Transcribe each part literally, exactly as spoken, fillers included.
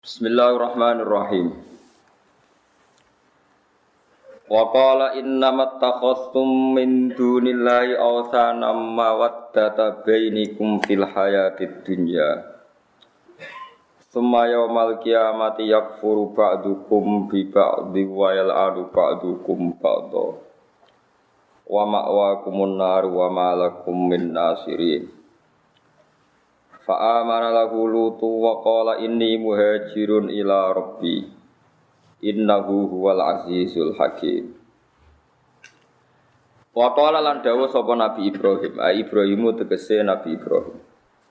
Bismillahirrahmanirrahim. Wa qala innamat takhastum min dunillahi awthanam mawaddata bainikum fil hayatid dunya. Tsumma yaumal qiyamati yakfuru ba'dukum bi ba'di wa yal'anu ba'dukum ba'dha. Wa ma'wakumun nar wa ma lakum min nasirin. Fa'amana lahu lutu wa qala inni muhajirun ila rabbi innahu huwal azizul hakim. Wa qala lan dawuh sapa Nabi Ibrahim, ai Ibrahimu tegese Nabi Ibrahim.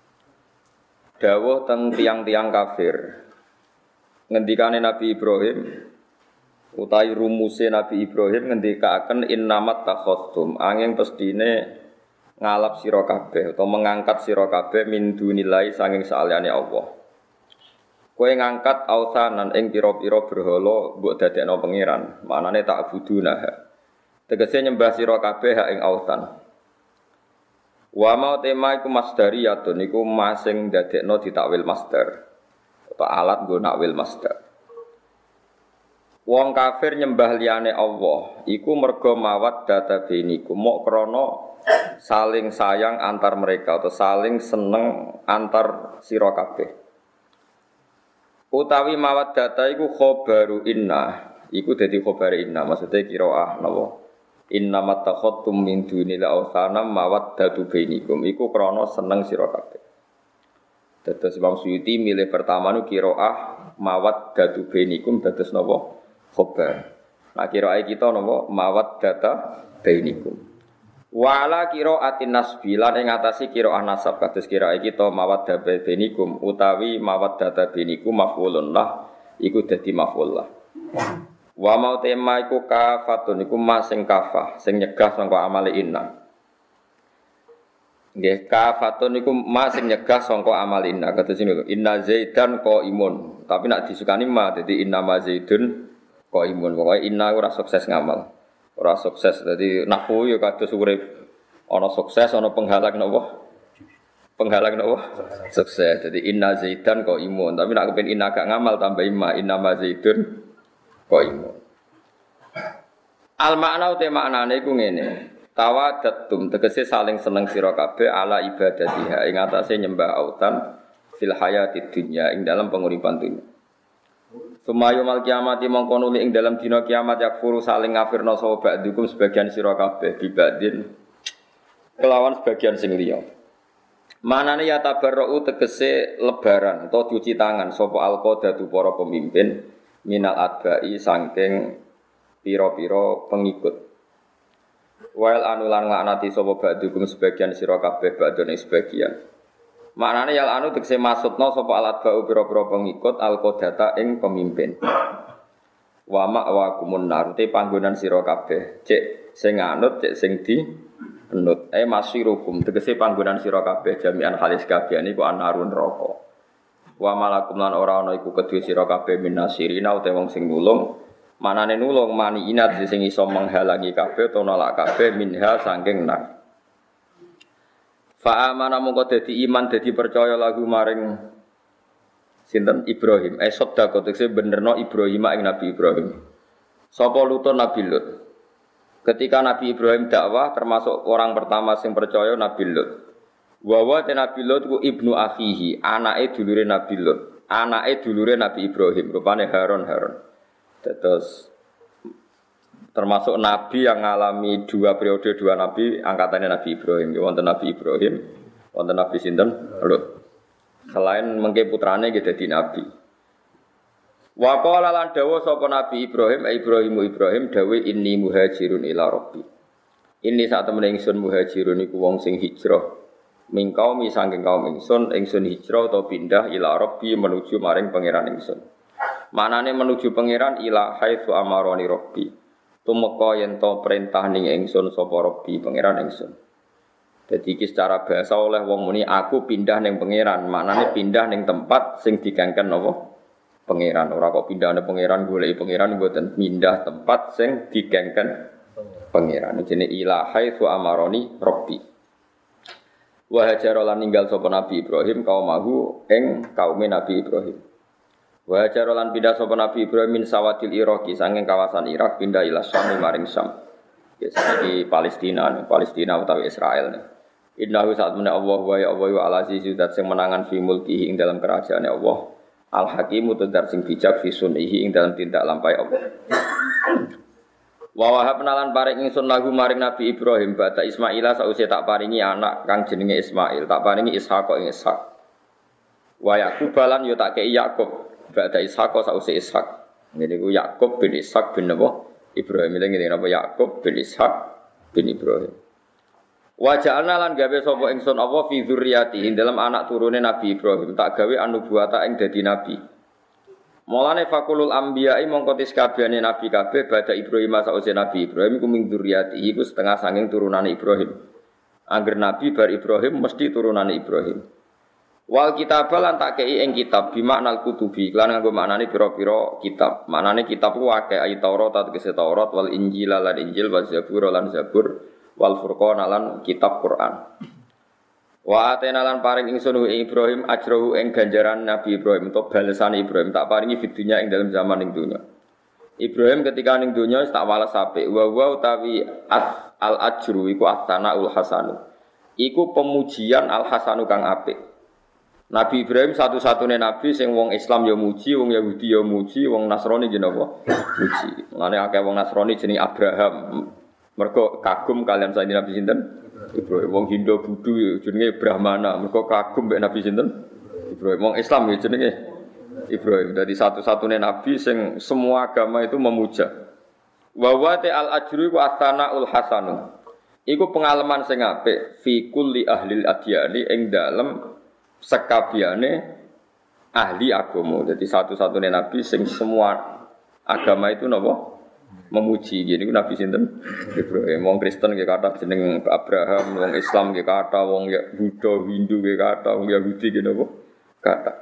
Dawuh teng tiang-tiang kafir. Ngendikane Nabi Ibrahim utawi rumuse Nabi Ibrahim ngendikaken innamat takhastum, angin pestine ngalap sira kabeh utawa mengangkat sira kabeh min dunillahi sanging saliyane Allah. Kowe ngangkat autsanan ing pira-pira berhala mbok dadekno pangeran, manane tak buduna. Tegese nyembah sira kabeh hak ing autsan. Wa ma tema iku masdariyatun iku masing dadekno ditakwil masdar. Utawa alat nggo nakwil masdar. Wong kafir nyembah liyane Allah iku merga mawaddata bainikum mok krana saling sayang antar mereka atau saling seneng antar sira kabeh. Utawi mawaddata iku khobaru inna, iku dadi khobar inna, maksudnya qiraah napa? Inna mattakhadtum min dunil awthanam mawaddatu bainikum, iku krana seneng sira kabeh. Dados Imam Suyuti milih pertama nu qiraah mawaddatu bainikum dados napa? Khobar. Nah qiraah kita napa? Mawaddata bainikum. Wala qiraatin nasbi lan ing ngatasi qiraah nasab kados qiraah kita mawaddah bainikum utawi mawaddah bainikum maf'ulun lah iku dadi maf'ul lah. Wa mau tema iku kafatun iku mas sing kafah sing nyegah sangka amale inna. Nggih kafatun iku mas sing nyegah sangka amale inna kados niku inna zaidan qaimun tapi nek disukani ma dadi inna ma zaidun qaimun pokoke inna ora sukses ngamal. Ora sukses, jadi nahwu ya kados urip ana sukses ana penghalang napa? Penghalang napa? Sukses. Jadi inna zaidan kok imun, tapi nek kepen inna gak ngamal tambah imma inna ma zaidun kok imun. Al makna uta maknane iku ngene. Tawaddatum tegese saling seneng sira kabeh ala ibadatiha ing atase nyembah autan fil hayatid dunya ing dalam penguripan dunya. Sumayu mal kiamati mongko nuli ing dalam dina kiamat yakfuru saling ngafirna sapa ba'dukum sebagian sira kabeh bibadin kelawan sebagian sing liya. Manane ya tabarruu tegese lebaran utawa cuci tangan sapa alqadatu para pemimpin minal adbai saking pira-pira pengikut. Wail anulan laknati sapa ba'dukum sebagian sira kabeh ba'done sebagian. Maknane yal anu tegese maksudna sapa alat ba'u pira-pira pengikut alqadata ing pemimpin. Wa ma'wakumun nar te panggonan sira kabeh, cek sing anut cek sing di anut. Eh masyirukum tegese panggonan sira kabeh jami'an halis kabeh niku anarun neraka. Wa malakum lan ora ana iku kedue sira kabeh minasirina utawa wong sing nulung. Manane nulung mani inat sing iso menghalangi kabeh utawa nolak kabeh minha saking nar. Fa amana mongko dadi iman dadi percaya lagu maring sinten Ibrahim. Eh sedekah tekse benerno Ibrahim ing Nabi Ibrahim. Sapa lutun Nabi Lut. Ketika Nabi Ibrahim dakwah termasuk orang pertama sing percaya Nabi Lut. Wa wa Nabi Lut ku ibnu akhihi, anake dulure Nabi Lut. Anake dulure Nabi Ibrahim, rupane Harun Harun. Terus termasuk nabi yang mengalami dua periode dua nabi angkatannya Nabi Ibrahim. Wonten Nabi Ibrahim, wonten Nabi sinten? Lut. Selain mengke putrane nggih dadi nabi. Wa qala lan dawuh sapa Nabi Ibrahim, Ibrahimu Ibrahim dawuh inni muhajirun ila rabbi. Ini sak temene ingsun muhajirun iku wong sing hijrah. Ming kaum saking kaum ingsun, ingsun hijrah atau pindah ila rabbi menuju maring pangeran ingsun. Manane menuju pangeran ila haitsu amaroni rabbi. Tumeka yen to perintah ning ingsun sapa Rabbi pangeran ingsun. Dadi iki secara bahasa oleh wong muni aku pindah ning pangeran, maknane pindah ning tempat sing digangken napa? Pangeran. Ora kok pindah ning pangeran goleki pangeran mboten pindah tempat sing digangken pangeran. Jenenge ilahai su amaroni Rabbi. Wa hajara lan ninggal sapa Nabi Ibrahim kaumahu ing kaume Nabi Ibrahim. Wa jarolan pindah sapa Nabi Ibrahim min sawadil Iraqi saking kawasan Irak pindah ila Syam maring Syam. Ya saiki Palestina, nih, Palestina utawi Israel nih. Innahu saat menawa Allah wa ya Allah wa al-aziz zat sing menangan fi mulkihi ing dalam kerajaane Allah. Al-Hakim tudar sing bijak fi sunihi ing dalam tindak lampai Allah. Wa wahab nalan paring ingsun lahu maring Nabi Ibrahim bata Ismaila sause tak paringi anak kang jenenge Ismail, tak paringi Ishaq ing Ishaq. Wa Yakub balan yo tak kei Yakub. Ba'da Ishaq sause Ishaq. Ngene iku Yakub bin Ishaq bin napa? Ibrahim iki ngene napa Yakub bin Ishaq bin Ibrahim. Wa ja'alna lan gawe sapa ingsun apa fi dzurriyyatihi dalam anak turune Nabi Ibrahim tak gawe anubuwata ing dadi nabi. Mulane fakulul anbiya'i mongko tis kabehane nabi kabeh ba'da Ibrahim sause Nabi Ibrahim iku min dzurriyyatihi iku setengah saking turunane Ibrahim. Angger nabi bar Ibrahim mesti turunane Ibrahim. Wal kitab lan tak kei ing kitab bimaknal kutubi lan nganggo maknane pira-pira kitab. Maknane kitab ku akeh ayat Taurat tegese Taurat wal Injil lan Injil wal Zabur lan Zabur wal Furqan lan kitab Quran. Wa atena lan paring ingsun ing Ibrahim ajrohu ing ganjaran Nabi Ibrahim untuk balasan Ibrahim tak paringi fitunya ing dalam zaman ing dunya. Ibrahim ketika ning dunya tak walas apik wa wa utawi al ajru iku as-sanaul hasanu. Iku pemujian al hasanu kang apik. Nabi Ibrahim satu-satunya nabi sing wong Islam ya muji, wong Yahudi ya muji, wong Nasrani jenenge apa? Muji. Mulane akeh wong Nasrani jenenge Abraham. Mergo kagum kalian saiki Nabi sinten? Ibrahim. Wong Hindu Buddha jenenge Brahmana. Mergo kagum mek Nabi sinten? Ibrahim. Wong Islam ya jenenge Ibrahim. Dadi satu-satunya nabi sing semua agama itu memuja. Wa wa al ajru wa atanaul hasanu. Iku pengalaman sing apik fi kulli ahli adyani ing dalem sekabiane ahli agama. Jadi satu-satunya nabi sing semua agama itu napa memuji. Jadi ku nabi sinten? Ibrahim. Wong Kristen nggih kathah jeneng Abraham, wong Islam nggih kathah, wong Buddha, Hindu nggih kathah, wong Yahudi nggih napa kathah.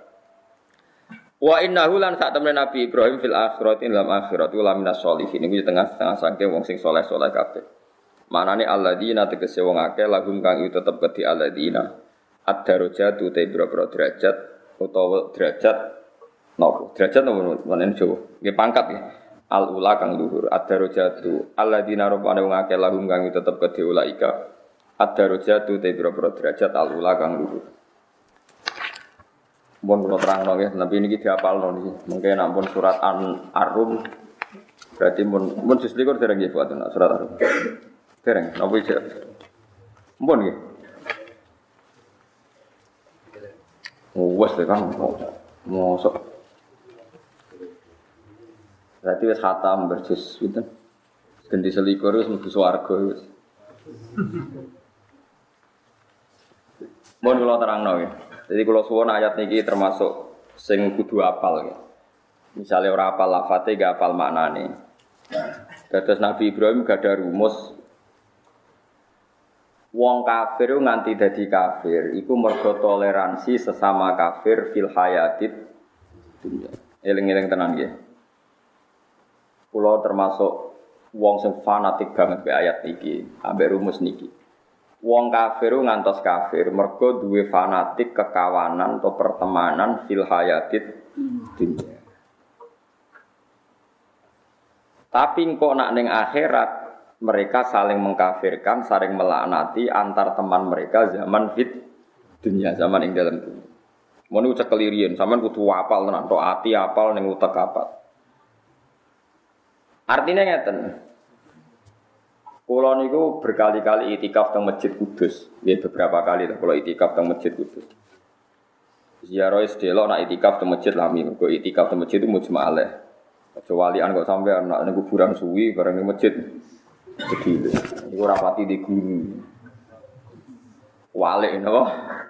Wa innahu lan sak temene Nabi Ibrahim fil akhirati lam akhirati la minas sholihin. Iku tengah-tengah saking wong sing saleh-saleh kabeh. Manane alladzina tegese wong akeh lahum kang itu tetep kedhi alladzina ad-darajat uta boro-boro derajat utawa derajat napa derajat napa menen Jawa nggih pangkat nggih al-ula kang luhur ad-darajatu alladzina rubana wong akeh lahum kang tetep kedhe ulaika ad-darajat uta boro-boro derajat al-ula kang luhur. Mun kula terangno nggih tapi niki diapalno niki mengke nampun surat An-Rum berarti mun mun juz likur dereng nggih buat surat Ar-Rum dereng napa iki mun nggih. Wes deh kan, mosok. Berarti wes khatam berjus, gitu. Ganti selikur wes mesti swarga wes. Mohon kalau terang ya. Jadi kalau suwon ayat niki termasuk sing kudu apal ya. Misalnya orang apal lafate gak apal maknane. Dados Nabi Ibrahim gak ada rumus. Wong kafir nganti dadi kafir iku mergo toleransi sesama kafir fil hayatid dunya. Eling-eling tenan nggih. Kula termasuk wong sing fanatik banget be ayat niki, ambek rumus niki. Wong kafir ngantos kafir mergo duwe fanatik kekawanan atau pertemanan fil hayatid dunya. Tapi kok nak ning akhirat mereka saling mengkafirkan, saling melaknati antar teman mereka zaman fit dunia, zaman ing dalam dunia. Mun ucap kelirian, sampean kudu apal tenan, tok ati apal ning utek apal. Artinya ngeten. Kula niku berkali-kali itikaf teng Masjid Kudus, nggih beberapa kali lah kula itikaf teng Masjid Kudus. Ziarah sedelok nak itikaf teng Masjid Lami, kok itikaf teng masjid itu mujma'alah. Kecuali an kok sampean nak ning kuburan suwi bareng ning masjid. Jadi, itu rapati di guru. Walik, no?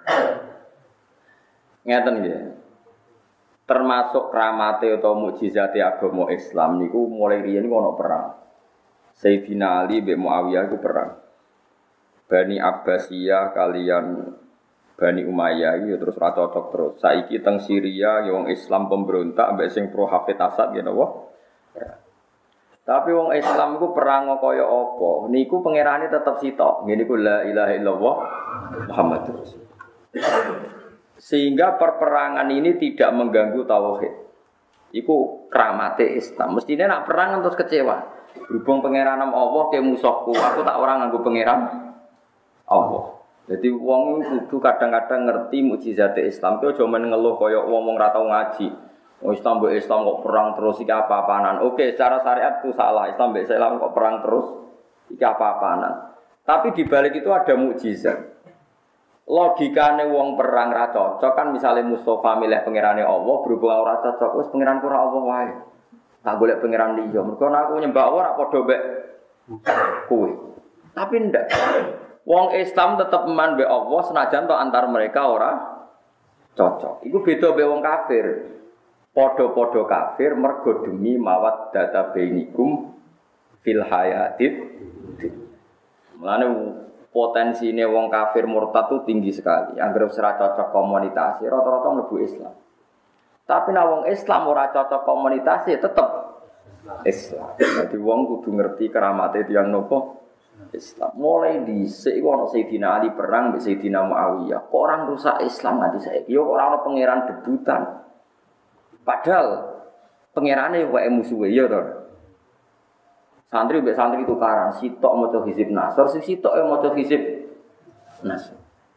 Ngeten nggih. Termasuk kramate atau mukjizate agama Islam niku mulai riyen niku ana perang. Sayyidina Ali mbek Muawiyah iku perang. Bani Abbasiyah kalian Bani Umayyah iki terus ra cocok terus. Saiki teng Syria ya wong Islam pemberontak mbek sing pro Hafid Asad ya napa? Tapi wong Islam iku perang kaya apa? Niku pangerane tetep sitok. Ngene iku la ilaha illallah Muhammadur Rasul. Sehingga perperangan ini tidak mengganggu tauhid. Iku keramate Islam. Mestine nak perang terus kecewa. Berhubung pangeran Allah ke musuhku, aku tak ora nganggo pangeran Allah. Jadi wong kudu kadang-kadang ngerti mukjizat Islam. Ku aja men ngeluh kaya wong-wong ra tau ngaji. Oh Islam mbek Islam kok perang terus iki apa-apaanan. Oke, secara syariat itu salah. Islam mbek Islam kok perang terus iki apa-apaanan. Tapi di balik itu ada mukjizat. Logikane wong perang ra cocok kan misalnya Mustafa milih pangerane Allah berhubung ora cocok wis pangeran ora Allah wae. Tak golek pangeran liya. Mergo aku nyembah Allah ora padha mek kowe. Tapi ndak. Wong Islam tetep iman mbek Allah senajan to antar mereka ora cocok. Iku beda mbek wong kafir. Padha-padha kafir mergo demi mawat data bainikum fil hayatid. Mulane potensine wong kafir murtad itu tinggi sekali. Anggere ora cocok komunitas, rata-rata mlebu Islam. Tapi nek wong Islam ora cocok komunitas tetep Islam. Jadi wong kudu ngerti keramate tiyang nopo Islam. Mulai dhisik iku ana Sayyidina Ali perang mbek Sayyidina Muawiyah. Kok orang rusak Islam nganti saiki? Yo ora ana pangeran debutan. Padahal pangerane wae musuhe ya to. Santri mbek santri tukaran, sitok maca hizib Nasr, sing sitok e maca hizib Nasr.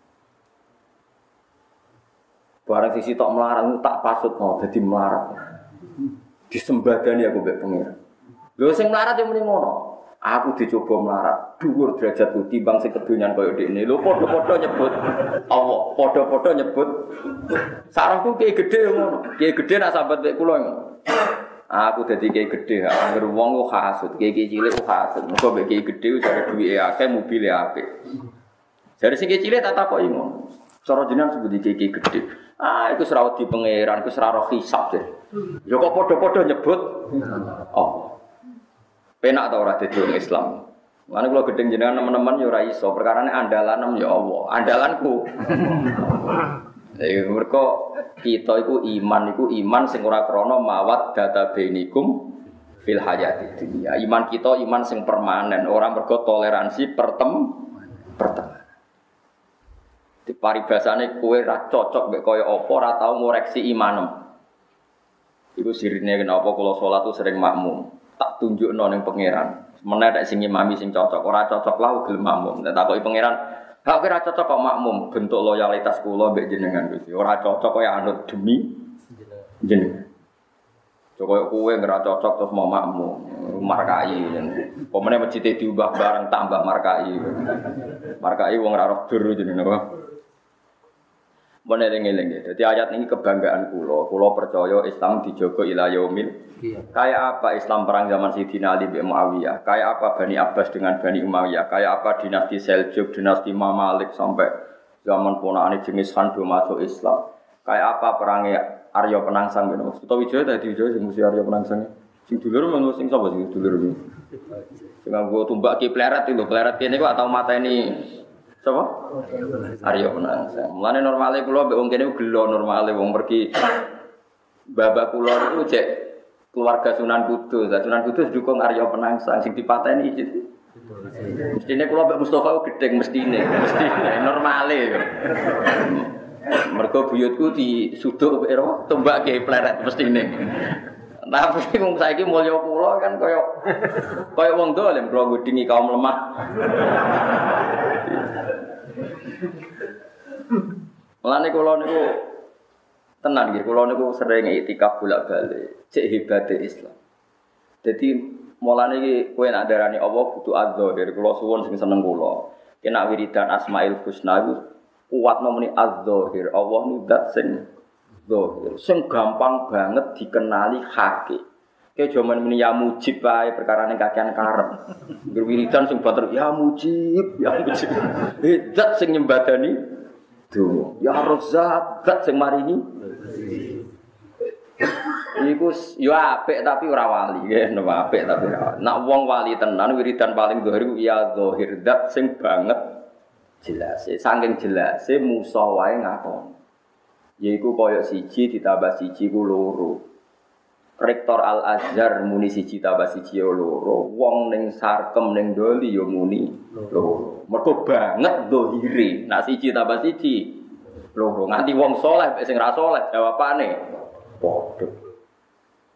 Barang sing sitok melarang tak pasut mau dadi melarat. Disembadani aku mbek pangeran. Lho sing melarat yo muni ngono. Aku dicoba melarat, dhuwur derajatku timbang sing kedonyan kaya dekne. Lho padha-padha nyebut Allah, padha-padha nyebut sarangku kiye gedhe ngono. Kiye gedhe nak sambat mek kula ngono. Aku dadi kiye gedhe, anggere wong kok hasud, kiye cilik kok hasud. Muga mek kiye gedhe jare duwike akeh, mobile apik. Jare sing cilik tak takoki ngono. Cara jenengan sebut kiye gedhe. Ah iku ora wedi pangeran, iku ora roh hisab deh. Ya kok padha-padha nyebut Allah. Penak ta ora dadi wong Islam. Mane kula gedeng jenengan teman-teman ya ora iso, perkarane andalanem ya Allah. Andalanku. Lha mergo kita iku iman iku iman sing ora krana mawat data bainikum fil hayati dunya. Iman kita iman sing permanen, ora mergo toleransi pertem pertemanan. Di paribasane kowe ra cocok mek kaya apa ora tau ngoreksi imanem. Iku sirine kenapa kula salat tu sering makmum. Tak tunjukno ning pangeran. Meneh nek sing imami sing cocok, ora cocok lah gelem makmum. Nek takoki pangeran, "Hak ora cocok kok makmum." Bentuk loyalitas kula mbek jenengan Gusti. Ora cocok kaya anut demi jenengan. Cokoyo kowe ora cocok terus mau makmum, markai. Pemene masjid diubah bareng tambah markai. Markai wong ora roh dur jenenge apa? Meneling-eling ya. Jadi ayat ini kebanggaan kula. Kula percaya Islam dijaga ila yaumil. Iya. Kayak apa Islam perang zaman Sayyidina Ali bin Muawiyah? Kayak apa Bani Abbas dengan Bani Umayyah? Kayak apa dinasti Seljuk, dinasti Mamalik sampai zaman ponakane Genghis Khan do masuk Islam? Kayak apa perangnya Arya Penangsang ben. Sutawijaya tadi Wijaya sing mesti Arya Penangsang. Sing dulur men sing sapa sing dulur iki? Sing nggo tumbak ki pleret iki lho, pleret kene kok atau mateni sapa? Arya Penangsang. Mulane normale kula mbek wong kene gelo normale wong pergi babak kula niku cek keluarga Sunan Kudus. Sunan Kudus dukung Arya Penangsang sing dipateni iki. Mestine kula mbek Mustofa gedeng mestine, mestine normale. Mergo buyutku disuduk ero tumbak ke pleret mestine. Tapi wong saiki mulya kula kan kaya kaya wong dolen kula ngudingi kaum lemah. Mulane kula niku tenan nggih, kula niku sering iktikaf bolak-balik, cek hebate Islam. Dadi mulane iki kowe nek darani Allah kudu adzahir, kula suwun sing seneng kula. Kena wiridan Asmaul Husna iku kuwat nomeni adzahir. Allah niku zat sing zahir, sing gampang banget dikenali hakik. Kayak jaman ini ya mujib wae perkarane kakean karep. Ngger wiridan sing bater ya mujib, ya mujib. Zat sing nyembadani donga. Ya Razzaq, zat sing maringi. Iku yo apik tapi ora wali, nggih, apik tapi ora. Nek wong wali tenan wiridan paling zahir iku ya zahir zat sing banget jelas. Saking jelase Musa wae ngakon. Yaiku koyo siji ditambah siji ku loro. Rektor Al-Azhar muni siji tambah siji loro. Wong ning Sarkem ning Doli yo muni loro. Mergo banget zahire. Nek siji tambah siji loro. Nganti wong saleh mek sing ra saleh jawabane padha.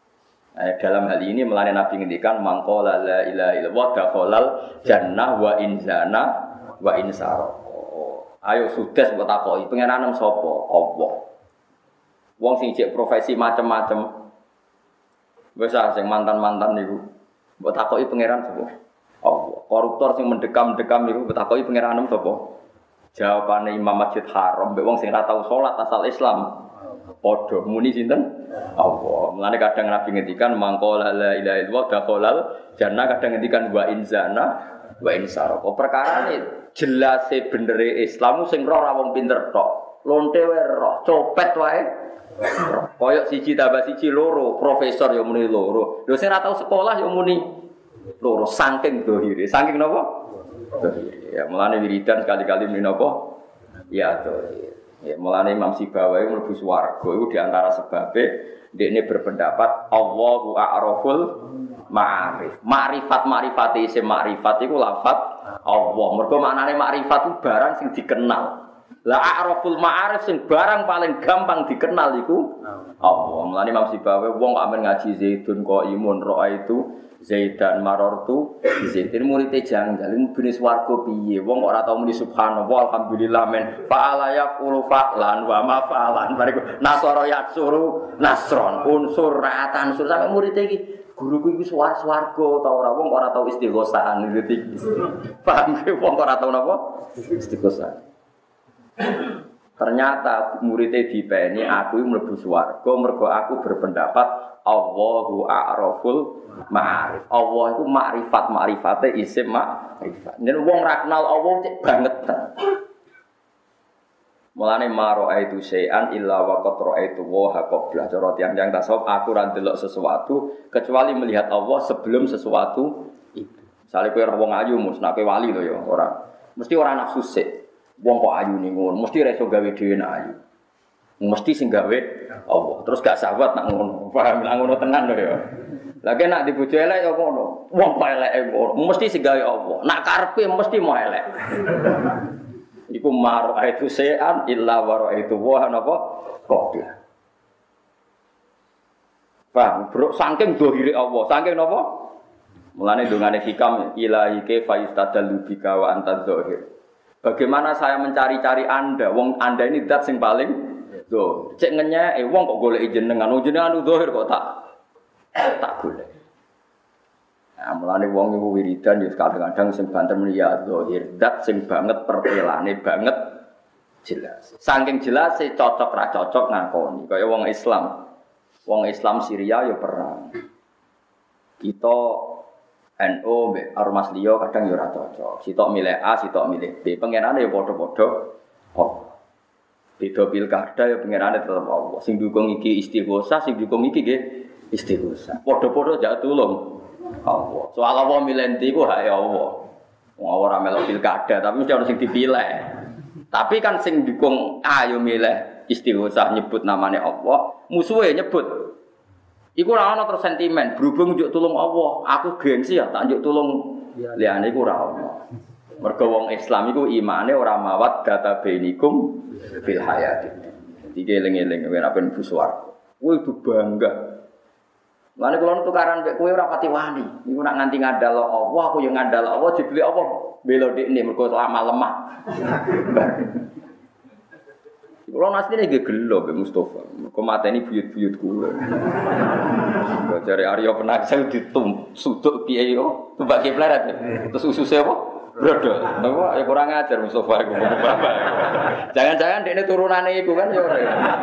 Nah, dalam hal ini melane Nabi ngendikan mangqala la ilaha illallah dakhalal jannah wa in zana wa in saraq. Ayo sudes mbok takoki pengeranem sapa? Allah. Wong sing cek profesi macam-macam. Wis sing mantan-mantan niku mbok takoki pangeran sapa? Allah. Koruptor sing mendekam-dekam niku mbok takoki pengeranem sapa? Jawabane Imam Masjid Haram mbek wong sing ora tau salat asal Islam. Padha muni sinten? Allah. Mulane kadang Nabi ngendikan mangqala la ilaha illallah dakhalal jannah, kadang ngendikan wa in zana wa in saraq. Perkarane jelas e benere Islam sing roh ora wong pinter tok. Lonte wae roh, copet wae. Koyok siji tambah siji loro, profesor ya muni loro. Lho sing ora tau sekolah ya muni loro, saking dohire. Saking napa? Dohire. Ya mulane wiridan sekali-kali muni napa? Ya dohire. Ya mulane Imam Sibawahi mlebu swarga iku di antara sebabe dekne berpendapat Allahu a'raful ma'arif. Ma'rifat ma'rifate isim ma'rifat iku lafaz Allah. Mergo maknane makrifat itu barang sing dikenal. La a'raful ma'arif sing barang paling gampang dikenal iku Allah. Mulane Imam Sibawahi wong kok amen ngaji Zaidun kok imun roa itu Zaidan marortu Zaidin muridé janggal mubine swarga piye wong kok ora tau muni subhanallah alhamdulillah men fa'ala yaqulu fa'lan wa ma fa'lan bariku nasara yatsuru nasron unsur ra'atan sur sampe muridé iki guruku iku swarga ta ora wong ora tau istighosahan iki. Paham ge wong ora tau napa? Istighosahan. Ternyata muridnya dipeni aku mlebu swarga mergo aku berpendapat Allahu a'raful ma'arif. Allah itu makrifat makrifate isim makrifat. Yen wong ra kenal Allah cek banget. Mulane maro itu sayan illa wa qad ra'aitu wa qabla cara tiyang-tiyang tasawuf aku ora ndelok sesuatu kecuali melihat Allah sebelum sesuatu itu. Misale kowe ora wong ayu mus nek wali lho ya ora. Mesti ora nafsu sik. Wong kok ayu ning ngono, mesti ra iso gawe dhewe nek ayu. Mesti sing gawe Allah. Terus gak sahabat nak ngono. Paham nak ngono tenan lho ya. Lagi nak dibojo elek ya ngono. Wong kok eleke ngono, mesti sing gawe Allah. Nak karepe mesti mau elek. Iku mar aitu se'an illa wa ra'aitu wa napa qabla. Paham, bro, saking dohire Allah, saking napa? Mulane dongane hikam ilahi ka faistadallu bika wa anta dzahir. Bagaimana saya mencari-cari Anda? Wong Anda ini zat sing paling do. Cek ngenyek, eh wong kok golek jenengan, wong jenengan dzahir kok tak tak golek. Nah, mulane wong iku wiridan ya kadang-kadang sing banter muni ya dzahir, zat sing banget pertelane banget jelas. Saking jelas e cocok ra cocok ngakoni. Kaya wong Islam. Wong Islam Syria ya perang. Kita N U mbek ormas liya kadang ya ora cocok. Sitok milih A, sitok milih B. Pengenane ya padha-padha Allah. Beda pilkada ya pengenane tetep Allah. Sing dukung iki istighosah, sing dukung iki nggih istighosah. Padha-padha jak tulung Allah. Soal Allah milih ndi ku hak Allah. Wong ora melok pilkada, tapi mesti ana sing dipilih. Tapi kan sing dukung A yo milih istighosah nyebut namanya Allah, musuhe nyebut iku ora ana terus sentimen, berhubung njuk tulung Allah, aku gengsi ya tak njuk tulung liyane iku ora ana. Mergo wong Islam iku imane ora mawat data bainikum fil hayati. Iki eling-eling yen apen buswarga. Kuwi itu bangga. Lane kula tukaran mek kowe ora pati wani. Iku nak nganti ngandal Allah, aku yo ngandal Allah dibeli Allah bela dekne mergo lama lemah. Kalau nasi ini gelo, Mbak Mustafa. Kau mata ini buyut-buyut kula. Kau cari Arya Penangsang ditum, sudut kiai yo, tumbak kipleret. Terus ususnya apa? Brodol. Nama ya kurang ajar Mustafa. Jangan-jangan dia ini turunannya itu kan ya orang.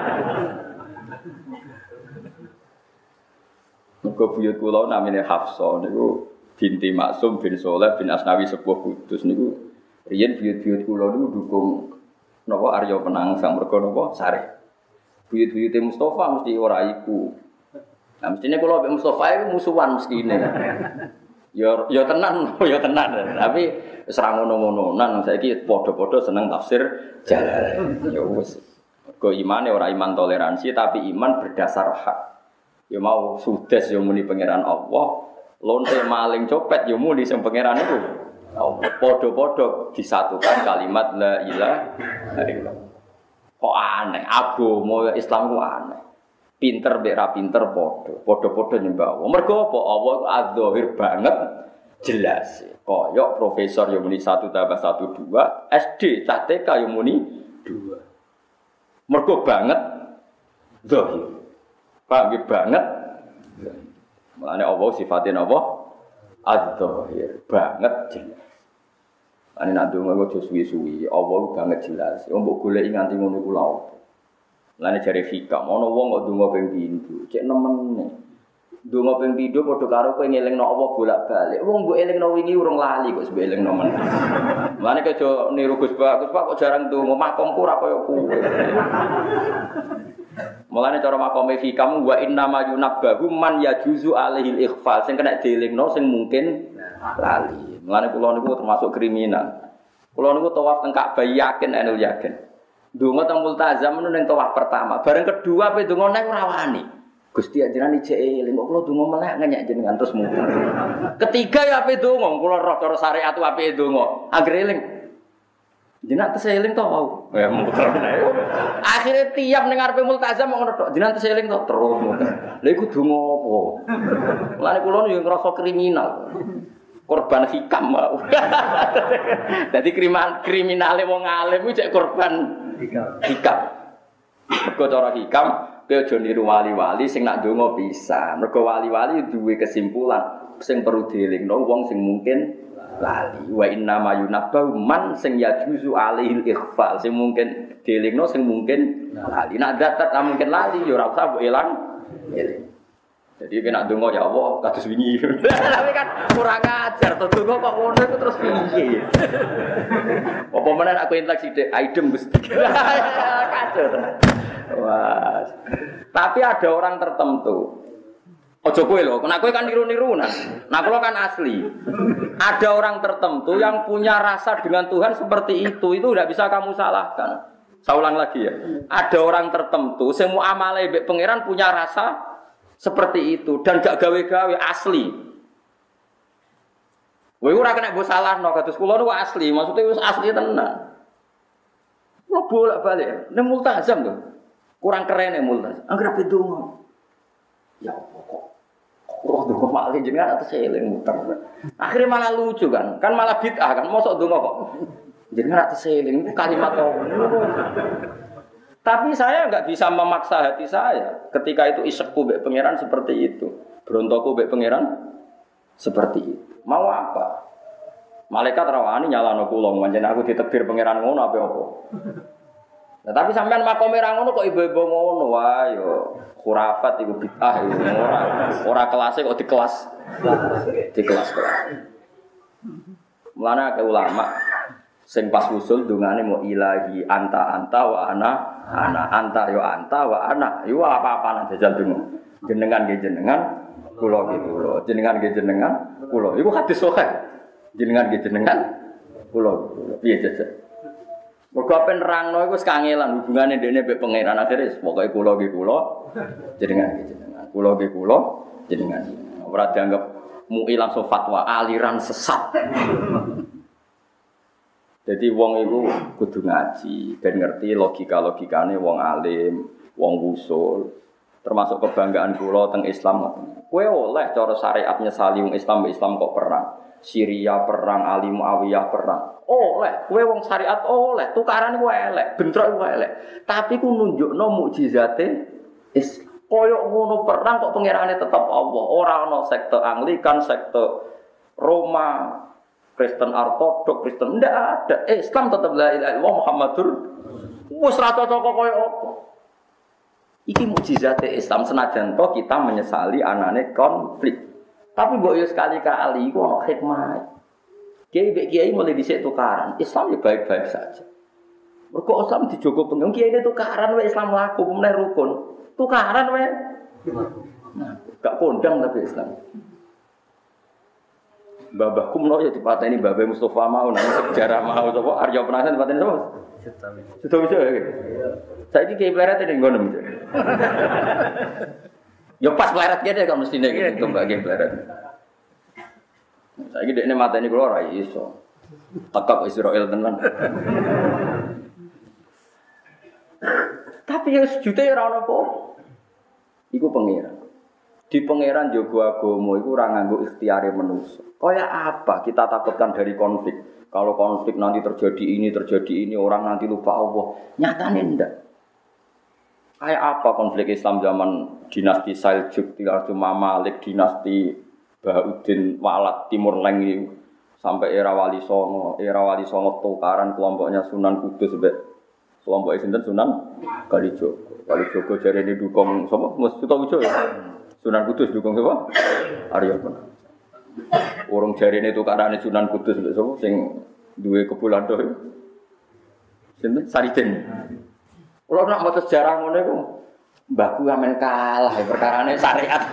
Kau buyut kula namanya Hafsah. Niku binti Maksum bin Soleh bin Asnawi sepuh Kudus. Niku riyen buyut-buyut kula niku dukung. Napa Arya Penangsang mergo napa sare. Buyut-buyute Mustafa mesti ora iku. Nah mestine kula mbek Mustafa iku musuhan mestine. Ya ya tenan, ya tenan. Tapi wis ra ngono-ngononan saiki padha-padha seneng tafsir Jalalain. Ya wis. Mergo imane ora iman toleransi tapi iman berdasar hak. Ya mau sudes ya muni pangeran Allah, lonte maling copet ya muni sing pangeran iku. Oh, podo-podo disatukan kalimat la ilaha illallah. Kok aneh, agama Islam ku aneh. pinter mbek ra pinter padha. Padha-padha nyembah Allah. Mergo apa? Allah iku adzahir banget jelas. Koyok profesor yang muni satu tambah satu dua, S D cah T K yang muni dua. Mergo banget zahir. Paham banget. Mulane Allah sifatnya apa? Adzahir banget jelas. Ane nak ndonga kok suwi-suwi, Allah banget jelas. Wong mbok goleki nganti ngono iku lha opo. Lane jare hikam, ana wong kok ndonga ping pindho, cek nemene. Ndonga ping pindho padha karo kowe ngelingno Allah bolak-balik. Wong mbok elingno wingi urung lali kok mbok elingno men. Lane kok aja niru Gus Pak, Gus Pak kok jarang ndonga, makomku ora kaya kowe. Mulane cara makome hikam wa inna ma yunabbahu man yajuzu alaihil ikhfal, sing kena dielingno sing mungkin lali. Mulane kula niku termasuk kriminal. Kula niku tawaf teng Ka'bah yakin enul yakin. Ndonga teng multazam niku ning tawaf pertama, bareng kedua pe ndonga nek ora wani. Gusti ajaran ijek eling kok kula ndonga melek ngenyek jenengan terus muter. Ketiga ya ape ndonga, kula roh cara syariat ape ndonga. Anggere eling. Jenengan tes eling to mau. Ya muter. Akhire tiap ning ngarepe multazam ngono tok. Jenengan tes eling to terus muter. Lha iku ndonga apa? Mulane kula yo ngrasa kriminal. Korban hikam mau. Dadi kriminal kriminale wong alim kuwi cek korban hikam. Mergo cara hikam kowe aja niru wali-wali sing nak ndonga bisa. Mergo wali-wali duwe kesimpulan sing perlu dielingno wong sing mungkin lali. Wa inna ma yunabbahu man sing yajuzu alaihil ikhfal, sing mungkin dielingno sing mungkin lali. Nak datat mungkin lali ya ora usah mbok elang. Jadi kena ndonga ya Allah kados wingi. Tapi kan kurang ajar to ndonga kok ngono iku terus piye. Apa meneh aku entek sithik aidem Gusti. Kacau. Wah. Tapi ada orang tertentu. Ojo kowe lho, nek kowe kan niru-nirunan. Nah kula kan asli. Ada orang tertentu yang punya rasa dengan Tuhan seperti itu, itu tidak bisa kamu salahkan. Saya ulang lagi ya. Ada orang tertentu semua amale mbek pangeran punya rasa seperti itu dan gak gawe-gawe asli. Kowe ora kena mbok salahno kados kula niku asli, maksudnya wis asli tenan. Kula bolak-balik ning multazam lho. Kurang keren ya multazam. Anggere bedonga. Ya kok roh donga malah jenengan atus eling muter. Akhirnya malah lucu kan. Kan malah bid'ah kan. Mosok donga kok jenengan atus eling kalimat apa. Tapi saya enggak bisa memaksa hati saya ketika itu isekku mbek pangeran seperti itu. Berontoku mbek pangeran seperti itu. Mau apa? Malaikat rawani nyalano kula pancen aku ditakdir pangeran ngono apa apa. Nah, tapi sampean makome ra ngono kok ibu-ibu ngono wae yo khurafat iku bid'ah iku ora ora kelase kok di kelas di kelas-kelas. Mulane akeh ulama sing pas usul dungane mau ilahi anta anta wa ana ana anta yo anta wa ana yo apa-apa nang jajal dungo. Jenengan nggih jenengan, kula nggih kula. Jenengan nggih jenengan, kula. Iku hadis sahih. Jenengan nggih jenengan, kula. Piye jajal? Mergo ben nerangno iku wis kangelan hubungane ndekne mbek pangeran akhire pokoke kula nggih kula jenengan nggih jenengan kula nggih kula jenengan ora dianggap mui langsung fatwa aliran sesat. Jadi wong iku kudu ngaji ben ngerti logika-logikane wong alim, wong usul. Termasuk kebanggaan kula teng Islam. Kowe oleh cara syariatnya nyesali wong Islam Islam kok perang. Syria perang, Ali Muawiyah perang. Oleh, kowe wong syariat oleh, tukaran iku elek, bentrok iku elek. Tapi ku nunjukno mukjizate Islam. Koyok ngono perang kok pangerane tetep Allah. Ora ana sekte Anglikan, sekte Roma, Kristen Ortodok, Kristen ndak ada. Islam tetep la ilaha illallah Muhammadur wis ra cocok koyo apa. Iki mukjizate Islam senajan to kita menyesali anane konflik. Tapi mbok yo sekali-kali iku ana hikmah. Kiai mbek kiai mulai dhisik tukaran. Islam ya baik-baik saja. Mergo Islam dijogo pengen kiai tukaran wae Islam laku meneh rukun. Tukaran wae. Nah, gak kondang tapi Islam. Babah kumno ya dipateni Babah Mustofa mau nang sejarah mau sapa Arya Penasan dipateni sapa? Sudah bisa ya. Saiki kiai pleret ning ngono. Ya pas pleret gede kok mestine gitu Mbak kiai pleret. Saiki dekne mateni kula ora iso. Tekak Israel tenan. Tapi ya sejuta ora ono apa. iku pangeran. Di pangeran jaga agama iku ora nganggo ikhtiare manusa. Kaya apa kita takutkan dari konflik? Kalau konflik nanti terjadi ini, terjadi ini, orang nanti lupa Allah. Nyatane ndak. Kayak apa konflik Islam zaman dinasti Seljuk, dinasti Mamalik, dinasti Bahaudin Walat Timur Leng ini sampai era Wali Songo, era Wali Songo tukaran kelompoknya Sunan Kudus sampai kelompoknya sinten Sunan Kalijogo. Kalijogo jarene dukung sapa? Mus Sutawijo ya. Sunan Kudus dukung sapa? Arya Penasaran. Orang jarene tukarane Sunan Kudus lho sapa sing duwe kebulan to. Sinten? Sariden. Kalau nak mau sejarah ngono iku mbahku amen kalah perkarane syariat.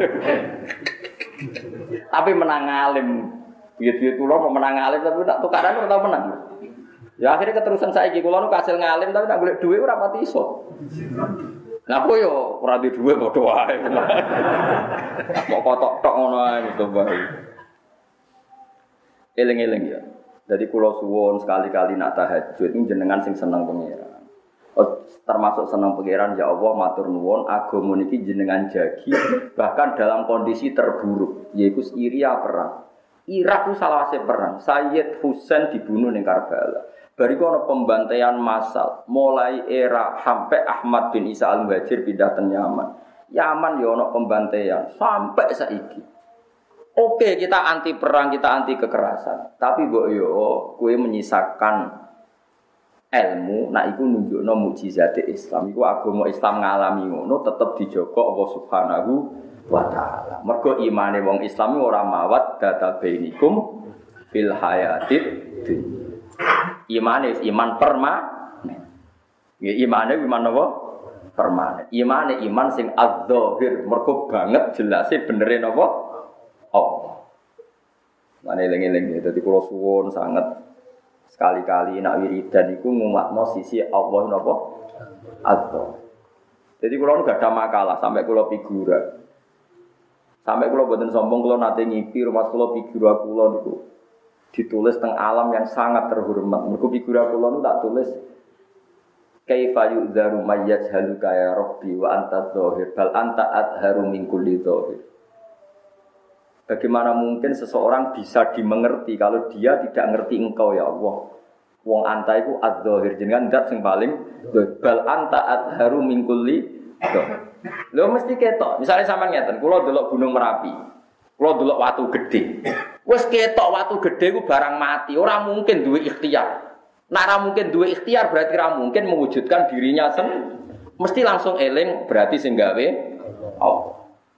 Tapi menang alim. Biye-biye kula mau menang alim tapi tak tukaran ora tau menang. Ya akhirnya keterusan saiki kula nu kasil ngalim tapi nak golek dhuwit ora pati iso. Lah aku yo ora duwe dhuwit padha wae. Kok kotok tok ngono ae to bae. Eling-eling ya. Jadi kula suwun sekali-kali nak tahajud ini jenengan sing seneng pengira. Oh, termasuk senang pangeran ya Allah matur nuwun agama niki jenengan jagi bahkan dalam kondisi terburuk yaitu Syria perang. Irak itu salawase perang. Sayyid Husain dibunuh ning Karbala. Bariku ana pembantaian massal mulai era sampai Ahmad bin Isa Al-Muhajir pindah ke Yaman. Yaman ya ana pembantaian sampai saiki. Oke, kita anti perang, kita anti kekerasan. Tapi mbok yo kowe menyisakan ilmu, nak iku nunjukno mukjizat Islam. Iku agama Islam ngalami ngono tetep dijaga Allah Subhanahu wa taala. Mergo imane wong Islam ora mawat data bainikum fil hayatid dunya. Imane iman permanen. Ya imane iman apa? Permanen. Imane iman sing adzahir, mergo banget jelase benere napa? Allah. Lan eling-eling dadi kula suwun sanget sekali-kali nak wiridan iku ngumatno sisi Allah napa? Allah. Jadi kula nu gak ada makalah sampai kula figura. Sampai kula boten sombong kula nate ngipi rumah kula figura kula niku ditulis teng alam yang sangat terhormat. Mergo figura kula nu tak tulis kaifa yu'dzaru mayyaz haluka ya rabbi wa anta dzahir bal anta adharu min kulli dzahir. Bagaimana mungkin seseorang bisa dimengerti kalau dia tidak ngerti engkau ya Allah. Wong anta iku adzahir jenengan zat sing paling bal anta adharu min kulli dzahir. Lho mesti ketok. Misalnya sampean ngeten, kula delok Gunung Merapi. Kula delok watu gedhe. Wis ketok watu gedhe ku barang mati, ora mungkin duwe ikhtiar. Nek ora mungkin duwe ikhtiar berarti ora mungkin mewujudkan dirinya sen. Mesti langsung eling berarti sing gawe Allah.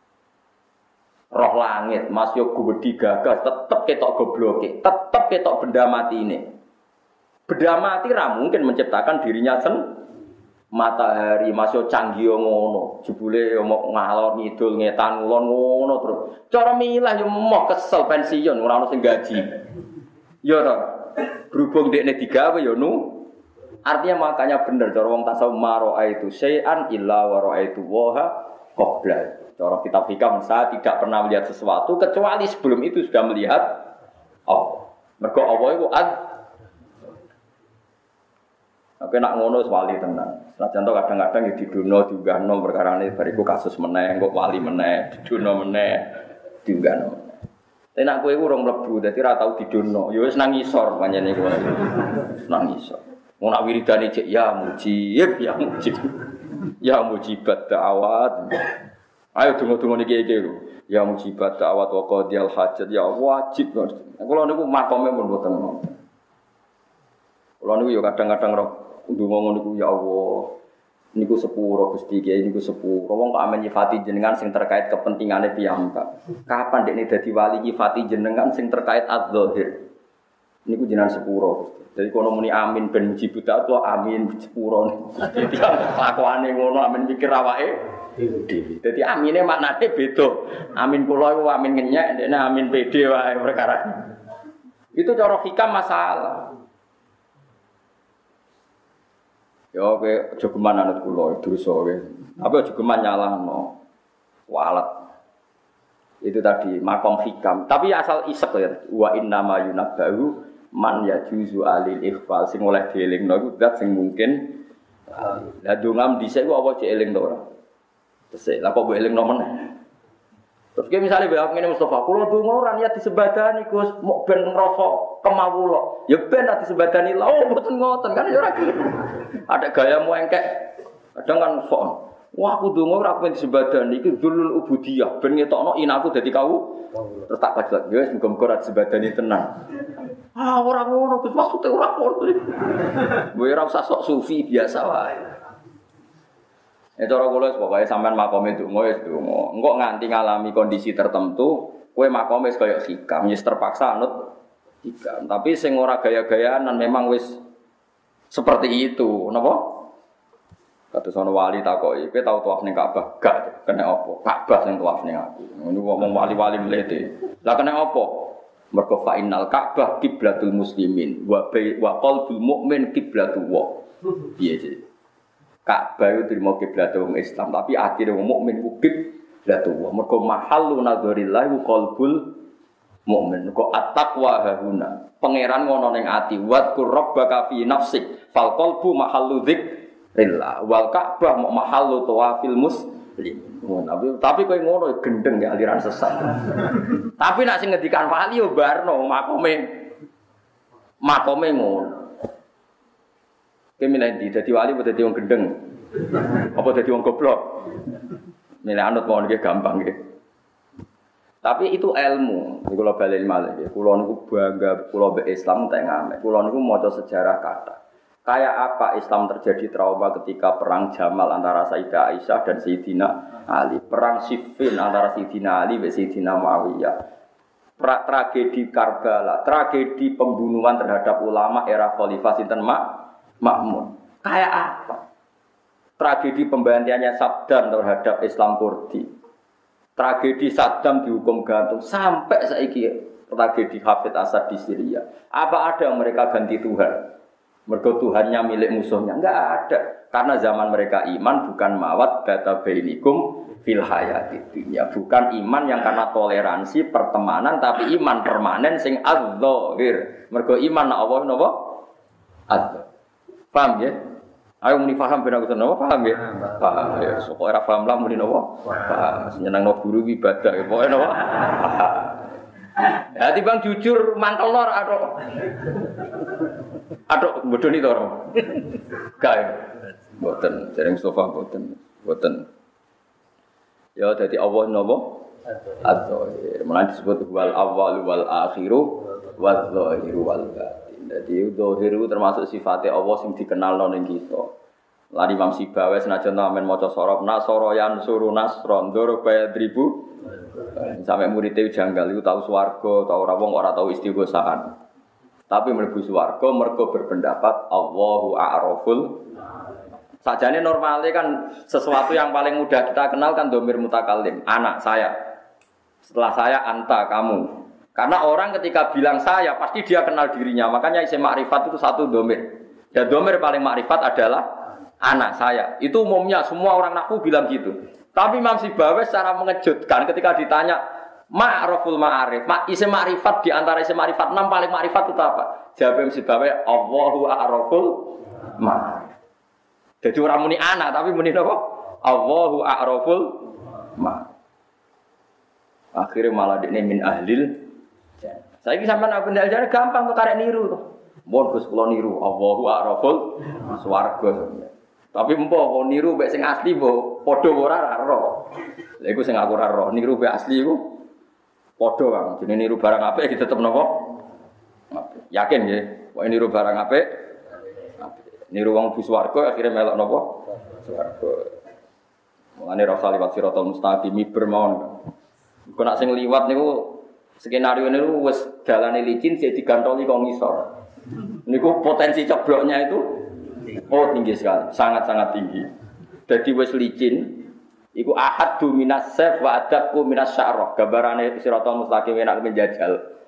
Roh langit, Mas yo gumedi gagas tetep ketok gobloke, tetep ketok benda mati ini. Benda mati ra mungkin menciptakan dirinya sen. Matahari masuk canggih ngono, jebule omong ngalor ngidul ngetan ngulon ngono terus. Cara milah yo moh kesel pensiun ora ono sing gaji. Yo to. Berhubung dekne digawe yo nu. Artinya makanya bener cara wong tasawuf maro itu syai'an illa wa ra'aitu waha qabla. Cara kitab hikam saya tidak pernah melihat sesuatu kecuali sebelum itu sudah melihat Allah. Mergo Allah iku ad. Oke nak ngono wali tenan. Senajan to kadang-kadang ya didono diunggahno perkarane bariku kasus meneh, kok wali meneh, didono meneh, diunggahno. Tapi nak kowe iku urung mlebu dadi ora tau didono. Ya wis nang ngisor pancene kowe. Nang ngisor. Wong nak wiridane cek ya mujib, ya mujib. Ya mujibat da'awat. Ayo tunggu-tunggu niki iki lho. Ya mujibat da'awat wa qadiyal hajat ya wajib. Kulo niku makome pun mboten. Kulo niku ya kadang-kadang roh ndonga ngono niku ya Allah. Niku sepuro Gusti Kyai niku sepuro. Wong kok amen nyifati jenengan sing terkait kepentingane piyambak. Kapan dekne dadi wali nyifati jenengan sing terkait adzahir. Niku jenengan sepuro Gusti. Jadi kono muni amin ben mujibut atau amin sepuro. Dadi kelakuane ngono amin mikir awake dhewe. Dadi amine maknane beda. Amin kula iku amin ngenyek, ndekne amin pede wae perkara. Itu cara hikam masalah. Ya kowe aja geman anut kula dosa kowe. Apa aja geman nyalahno. Walat. Itu tadi makom hikam. Tapi asal isek ya. Wa inna ma yunabbahu man yajuzu alil ikhfal sing oleh dielingno iku zat sing mungkin. Lah dongam dhisik ku apa cek eling to ora? Tesih, lah kok mbok eling nomen. Terus ki misale bae ngene Mustofa, kula donga ora niat disebadani Gus, mok ben ngrasa kemawula. Ya ben ati disebadani lha oh mboten ngoten kan ya ora gitu. Ada gayamu engkek. Kadang kan sok. Wah aku donga ora ben disebadani iki dzulul ubudiyah, ben ngetokno inaku dadi kau. Terus tak kajak, ya wis muga-muga ora disebadani tenan. Ah ora ngono Gus, maksude ora ngono. Kowe ora usah sok sufi biasa wae. Ya cara kula pokoke sampean makome donga wis donga. Engko nganti ngalami kondisi tertentu, kowe makome wis kaya hikam, wis terpaksa anut hikam. Tapi sing ora gaya-gayaan memang wis seperti itu, napa? Kados ana wali takoki, kowe tau tawaf ning Ka'bah? Gak, kena apa? Ka'bah sing tawaf ning aku. Ngono ngomong wali-wali mlete. Lah kena apa? Mergo fa innal Ka'bah kiblatul muslimin wa wa qalbul mukmin kiblatu wa. Piye sih? Ka'bah itu terima kiblat wong Islam, tapi ati wong mukmin ku kiblat wong. Mergo mahallu nadzarillah qalbul mukmin. Mergo at-taqwa hauna. Pangeran ngono ning ati. Wadkur rabbaka fi nafsik. Fal qalbu mahallu dzikrillah. Wal Ka'bah mahallu tawafil muslim. Ngono. Tapi kowe ngono gendeng ya aliran sesat. Tapi nek sing ngendikan wali yo barno makome. Makome ngono. Kowe milih ndi dadi wali apa dadi wong gendeng? Apa dadi wong goblok? Milih anut mawon iki gampang nggih. Tapi itu ilmu. Niku kula bali malih nggih. Kula niku bangga kula mbek Islam tak ngamek. Kula niku maca sejarah kathah. Kayak apa Islam terjadi trauma ketika perang Jamal antara Sayyidah Aisyah dan Sayyidina Ali, perang Siffin antara Sayyidina Ali dan Sayyidina Muawiyah. Pra tragedi Karbala, tragedi pembunuhan terhadap ulama era Khalifah sinten Mak Makmun. Kayak apa? Tragedi pembantiannya Saddam terhadap Islam Kurdi. Tragedi Saddam dihukum gantung sampai saiki tragedi Hafid Asad di Syria. Apa ada yang mereka ganti Tuhan? Mergo Tuhannya milik musuhnya? Enggak ada. Karena zaman mereka iman bukan mawat bata bainikum fil hayatid dunya. Bukan iman yang karena toleransi pertemanan, tapi iman permanen sing adzahir. Mergo iman na Allah napa? Adzahir. Paham ya? Ayo muni paham ben aku seneng paham ya? Paham ya. Sok ora paham lah muni napa? Paham. Senengno guru ibadah ya pokoke napa? Ya timbang jujur mantel lor atok. Atok bodoni to ora? Gak. Mboten, dereng Mustofa mboten. Mboten. Ya dadi Allah napa? Adzahir. Mulane disebut wal awwal wal akhiru wal zahiru wal batin. Dadi zahir itu termasuk sifatnya Allah sing dikenalno ning kita. Lan Imam Sibawi senajan amen maca sorop nasoroyan suruh nasron ndoro bayar ribu. Sampai muridnya janggal itu tahu swarga, tahu ora wong ora tahu istighosahan. Tapi mlebu swarga mergo berpendapat Allahu a'raful. Sajane normalnya kan sesuatu yang paling mudah kita kenal kan dhamir mutakallim, anak saya. Setelah saya anta kamu. Karena orang ketika bilang saya pasti dia kenal dirinya. Makanya isim makrifat itu satu dhamir. Dan dhamir paling makrifat adalah anak saya. Itu umumnya semua orang nahwu bilang gitu. Tapi Imam Sibawi secara mengejutkan ketika ditanya ma'raful ma'arif, ma isim makrifat di antara isim makrifat enam paling makrifat itu apa? Jawab Imam Sibawi Allahu a'raful ma'arif. Jadi orang muni anak tapi muni apa? Allahu a'raful ma'arif. Akhirnya malah dekne min ahlil jannah. Saiki sampean aku ndal jane gampang kok karek niru to. Mun Gus kula niru Allahu a'raful swarga. Tapi empo kok niru mek sing asli mbok padha ora ora. Lha iku sing aku ora roh, niru mek asli iku padha Kang. Jenenge niru barang apik iki tetep napa? Apik. Yakin nggih, kok niru barang apik? Apik. Niru wong bu swarga akhire melok napa? Swarga. Mulane rasa liwat siratal mustaqim bermawon. Kok nak sing liwat niku skenario niku wis dalane licin sik digantoli kok ngisor. Niku potensi cebloknya itu oh tinggi sekali, sangat-sangat tinggi. Jadi wis licin iku ahaddu minas saf wa adaqu minas sya'rah. Gambarane siratal mustaqim enak menjajal.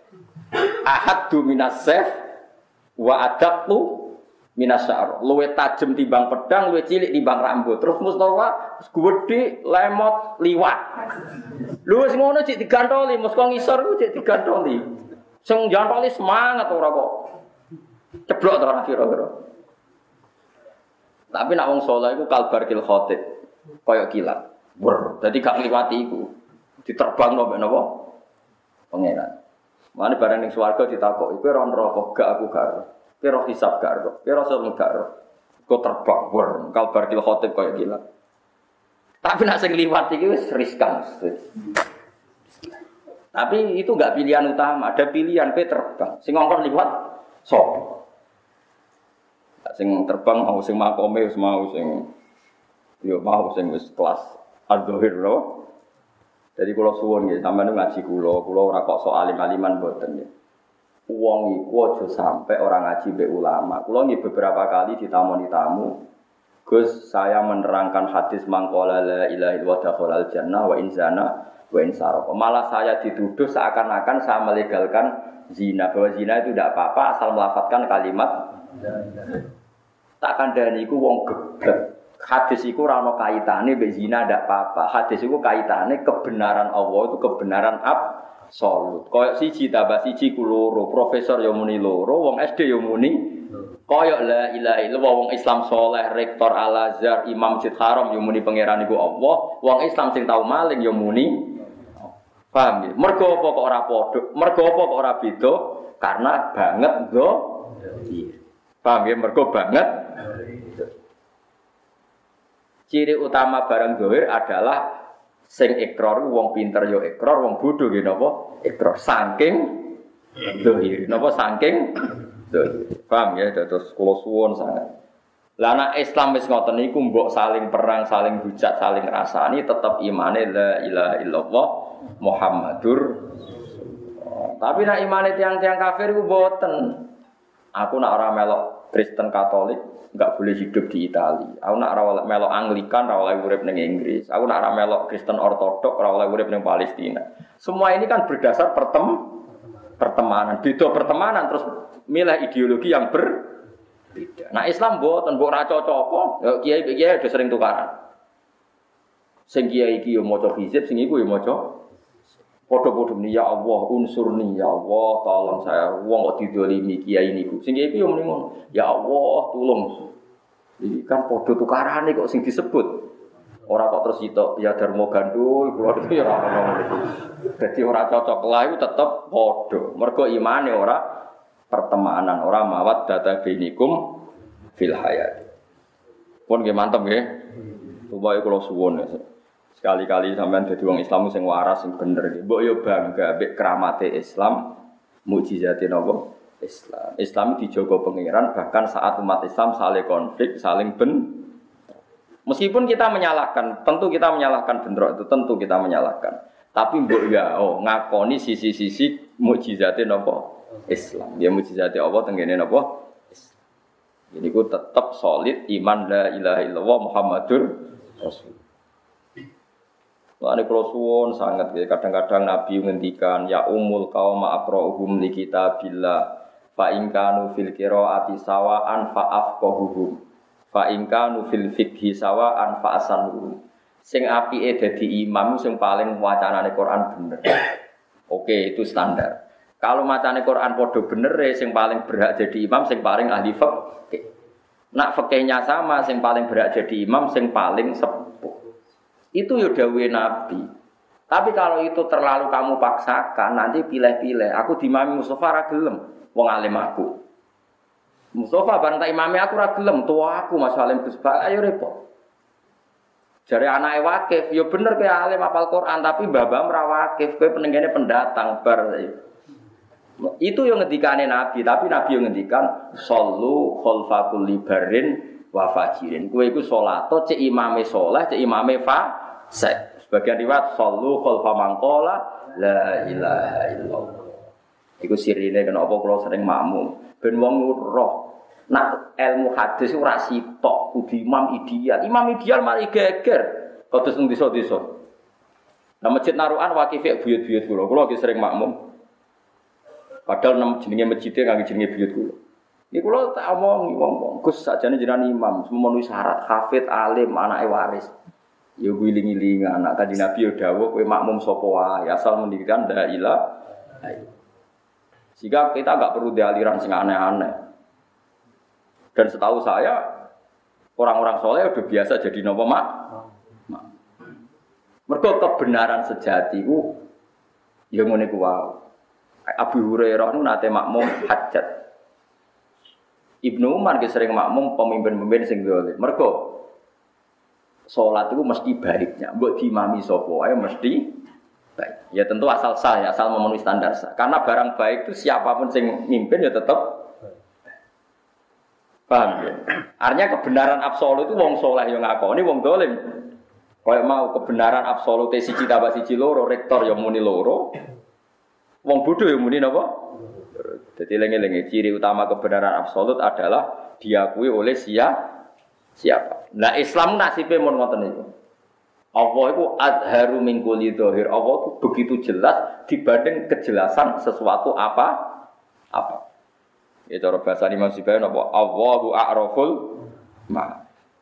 Ahaddu minas saf wa adaqu minas sya'rah. Luwih tajem timbang pedang, luwih cilik timbang rambut. Terus Mustafa gedhe lemot liwat. Lho wis ngono cek digantoli, mesti ngisor ku cek digantoli. Sing jantoli semangat ora kok. Ceblok to ora kira-kira. Tapi nak wong saleh iku kalbar kil khatib, kaya kilat. Wer, dadi gak ngliwati iku. Diterbangno mek napa? Pangeran. Mane bareng ning swarga ditakoki, kowe ora neraka, gak aku gak ero. Kowe ora hisab gak ero. Kowe ora sing gak ero. Kok terbang, wer, kalbar kil khotib kaya gila. Tapi nak sing liwat iki wis riskan. Tapi itu enggak pilihan utama, ada pilihan kowe terbang. Sing ngongkon liwat sapa? Sing terbang mau sing makome wis mau sing yo mau sing wis kelas adzhir lho. Jadi kula suwun nggih, sampeyan ngaji kula, kula ora kok sok alim-aliman mboten nggih. Wong iku aja sampe ora ngaji mbek ulama. Kula nggih beberapa kali ditamoni tamu. Gus, saya menerangkan hadis mangqala la ilaha illallah dakhalal jannah wa in zana wa in sarqa. Malah saya dituduh seakan-akan saya melegalkan zina. Bahwa zina itu tidak apa-apa asal melafadzkan kalimat tak kandhani iku wong geblek. Hadis iku ora ana kaitane mbek zina ndak apa-apa. Hadis iku kaitane kebenaran Allah itu kebenaran absolut. Kaya siji tambah siji ku loro, profesor ya muni loro, wong S D ya muni. Kaya la ilaha illallah wong Islam saleh, rektor Al-Azhar, Imam Masjid Haram ya muni pangeran iku Allah, wong Islam sing tau maling ya muni. Paham ya? Mergo apa kok ora padha? Mergo apa kok ora beda? Karena banget go. Paham ya? Mergo banget. Ciri utama barang zahir adalah sing ikrar wong pinter yo ikrar, wong bodho nggih napa? Ikrar saking zahir. Napa saking zahir. Paham ya? Terus kula suwun sangat. Lah nek Islam wis ngoten niku mbok saling perang, saling hujat, saling rasani tetep imane la ilaha illallah Muhammadur. Tapi nek imane tiang-tiang kafir iku mboten. Aku nak ora melok Kristen Katolik enggak boleh hidup di Italia. Aku nak ora melok Anglikan, ora oleh urip ning Inggris. Aku nak ora melok Kristen Ortodok, ora oleh urip ning Palestina. Semua ini kan berdasar pertem pertemanan. Beda pertemanan terus milih ideologi yang berbeda. Nah Islam mboten mbok ora cocok. Ya kiai-kiai udah sering tukaran. Sing kiai iki yo maca hizib, sing iku yo maca padha-padha ni ya Allah unsurni ya Allah tolong saya wong kok didolimi kiai niku. Sing kiai iki yo muni ngono. Ya Allah tulung. Iki kan padha tukarane kok sing disebut. Ora kok terus itu ya Darmo Gandul kula itu ya ora ono niku. Dadi ora cocok lah iku tetep padha. Mergo imane ora pertemanan, ora mawat data binikum fil hayat. Pun nggih mantep nggih. Supaya kula suwun ya. Sekali-kali sampean dadi wong Islam sing waras sing bener iki. Mbok yo bangga mbek kramate Islam, mukjizate napa? Islam. Islam dijaga pangeran bahkan saat umat Islam saling konflik, saling ben. Meskipun kita menyalahkan, tentu kita menyalahkan bentrok itu tentu kita menyalahkan. Tapi mbok ya oh ngakoni sisi-sisi mukjizate napa? Islam. Ya mukjizate Allah tenggene napa? Islam. Jadi ku tetap solid iman la ilaha illallah Muhammadur Rasul. Lane kula suwun sangat ya kadang-kadang Nabi ngendikan ya umul qaum aqra'uhum li kitabillah fa in kanu fil qiraati sawa'an fa afqahuhum fa in kanu fil fiqhi sawa'an fa asanuhum. Sing apike dadi imam sing paling wacanane Quran bener. Oke, itu standar. Kalau macane Quran padha bener sing paling berhak jadi imam sing paling ahli fikih. Nak fikihnya sama sing paling berhak jadi imam sing paling sepuh. Itu ya dawuhe Nabi. Tapi kalau itu terlalu kamu paksakan, nanti pilih-pilih. Aku dimami Mustafa ra gelem, wong alim aku. Mustafa bareng tak imami aku ra gelem, tua aku Mas Alim Gus Bak, ayo repot. Jare anake wakif, ya bener kowe alim hafal Quran, tapi mbah-mbah ra wakif, kowe penenggene pendatang bar. Itu yang ngendikane Nabi, tapi Nabi yang ngendikan sallu khalfa kulli barrin wa fajirin. Kowe iku salat, cek imame saleh, cek imame fa Sek. Sebagian riwayat sallu khalfa man qala la ilaha illallah. Iku sirine kenapa kula sering makmum. Ben wong roh nak ilmu hadis ora sitok kudu imam ideal. Imam ideal mari geger. Kados nang desa-desa. Nah masjid Narukan wakife buyut-buyut kula. Kula iki sering makmum. Padahal nem jenenge masjide kangge jenenge buyut kula. Iki kula tak omong wong-wong Gus sakjane jenengan imam, memenuhi syarat hafid alim anake waris. Ya guling-giling anak kanjeng Nabi ya dawuh kowe makmum sapa wae asal mendirikan la ilaha illallah. Sehingga kita enggak perlu dialiran sing aneh-aneh. Dan setahu saya orang-orang soleh udah biasa jadi napa mak. Mergo kebenaran sejati ku ya ngene ku wae. Abu Hurairah nu nate makmum hajat. Ibnu Umar ge sering makmum pemimpin-pemimpin sing dolim. Mergo salat itu mesti baiknya. Mbok diimami sapa ae mesti baik. Ya tentu asal sah ya, asal memenuhi standar sah. Karena barang baik itu siapapun sing mimpin ya tetap paham ya. Artinya kebenaran absolut itu wong saleh yo ngakoni, wong dolim. Kaya mau kebenaran absolut siji tambah siji loro, rektor yo muni loro. Wong bodoh yo muni napa? Jadi lengi-lengi ciri utama kebenaran absolut adalah diakui oleh siapa? Siapa? Nah Islam nasibe mun ngoten niku. Allah itu adharu min kulli dzahir. Allah itu begitu jelas dibanding kejelasan sesuatu apa? Apa? Ya cara bahasa Imam Syafi'i napa? Allahu a'raful ma.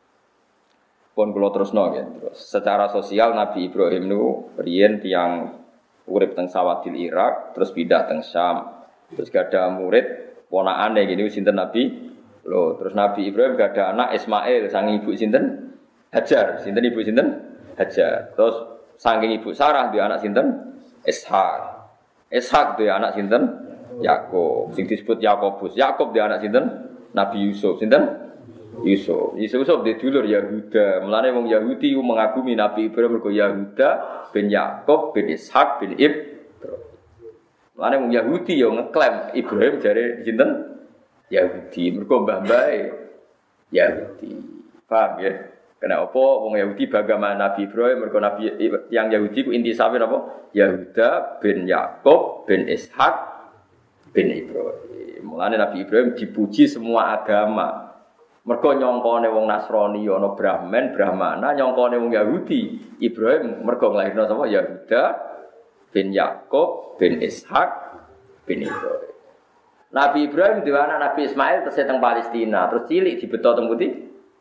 Pun kula terusno nggih. Terus secara sosial Nabi Ibrahim niku riyen tiyang urip teng Sawadil Irak, terus pindah teng Syam. Terus gak ada murid ponakane gini sinten Nabi. Loh, terus Nabi Ibrahim gak ada anak Ismail saking ibu sinten? Hajar. Sinten ibu sinten? Hajar. Terus saking ibu Sarah dia anak sinten? Ishak. Ishak dia anak sinten? Yakub. Sing disebut Yakobus. Yakub dia anak sinten? Nabi Yusuf. Sinten? Yusuf. Yusuf dia dulur Yahuda. Mulane wong Yahudi mengagumi Nabi Ibrahim mergo Yahuda bin Yakub bin Ishak bin Ibrahim. Mulane wong Yahudi yo ngeklaim Ibrahim jare sinten? Yahudi. Mergo mbah-mbahe Yahudi. Paham ya? Kenapa wong Yahudi bagaimana Nabi Ibrahim mergo Nabi yang Yahudi ku intisabé napa? Yahuda bin Yakub bin Ishak bin Ibrahim. Mulane Nabi Ibrahim dipuji semua agama. Mergo nyongkone wong Nasrani ana Brahman, Brahmana, nyongkone wong Yahudi. Ibrahim mergo nglairno sapa? Yahuda bin Yakub bin Ishak bin Ibrahim. Nabi Ibrahim dhewe anak Nabi Ismail terus teng Palestina, terus cilik dibeto teng pundi?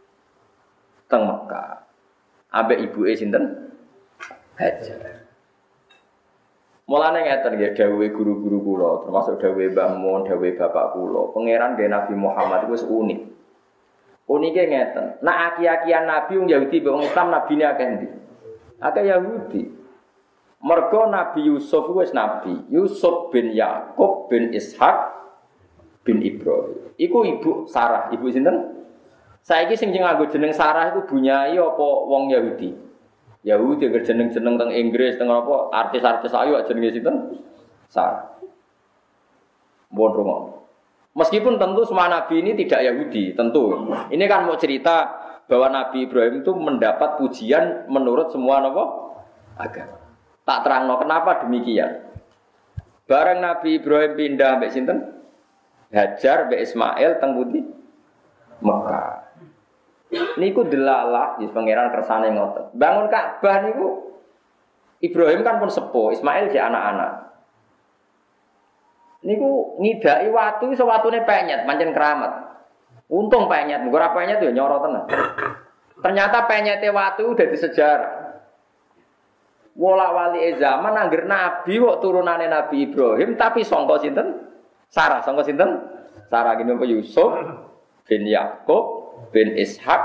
Teng Mekah. Ambek ibuke sinten? Hajar. Mulane ngeten nggih dawuhe guru-guru kula, termasuk dawuhe Mbah Mun, dawuhe bapak kula. Pangeran nggih Nabi Muhammad iku wis unik. Unike ngeten, nak aki-akian Nabi wong Yahudi wong Islam nabine akeh ndi? Akeh Yahudi. Mergo Nabi Yusuf wis nabi. Yusuf bin Yakub bin Ishak bin Ibrahim. Iku ibu Sarah, ibu sinten? Saiki sing nganggo jeneng Sarah iku bunyai apa wong Yahudi? Yahudi ngger jeneng-jeneng teng Inggris teng apa artis-artis ayu jenenge sinten? Sarah. Mohon rungok. Meskipun tentu semua nabi ini tidak Yahudi, tentu. Ini kan mau cerita bahwa Nabi Ibrahim itu mendapat pujian menurut semua apa? Agama. Tak terangno kenapa demikian. Bareng Nabi Ibrahim pindah mbek sinten? Hajar mbek Ismail teng pundi? Mekah. Niku delalah di pangeran kersane ngoten. Bangun Ka'bah niku Ibrahim kan pun sepuh, Ismail si anak-anak. Niku ngidaki watu iso watune penyet, pancen keramat. Untung penyet, nggo ora penyet yo nyoro tenan. Ternyata penyete watu udah di sejarah. Wala wali zaman angger nabi kok turunane Nabi Ibrahim tapi sangka sinten? Sarah, sangka sinten? Sarah gini apa Yusuf bin Yakub bin Ishak.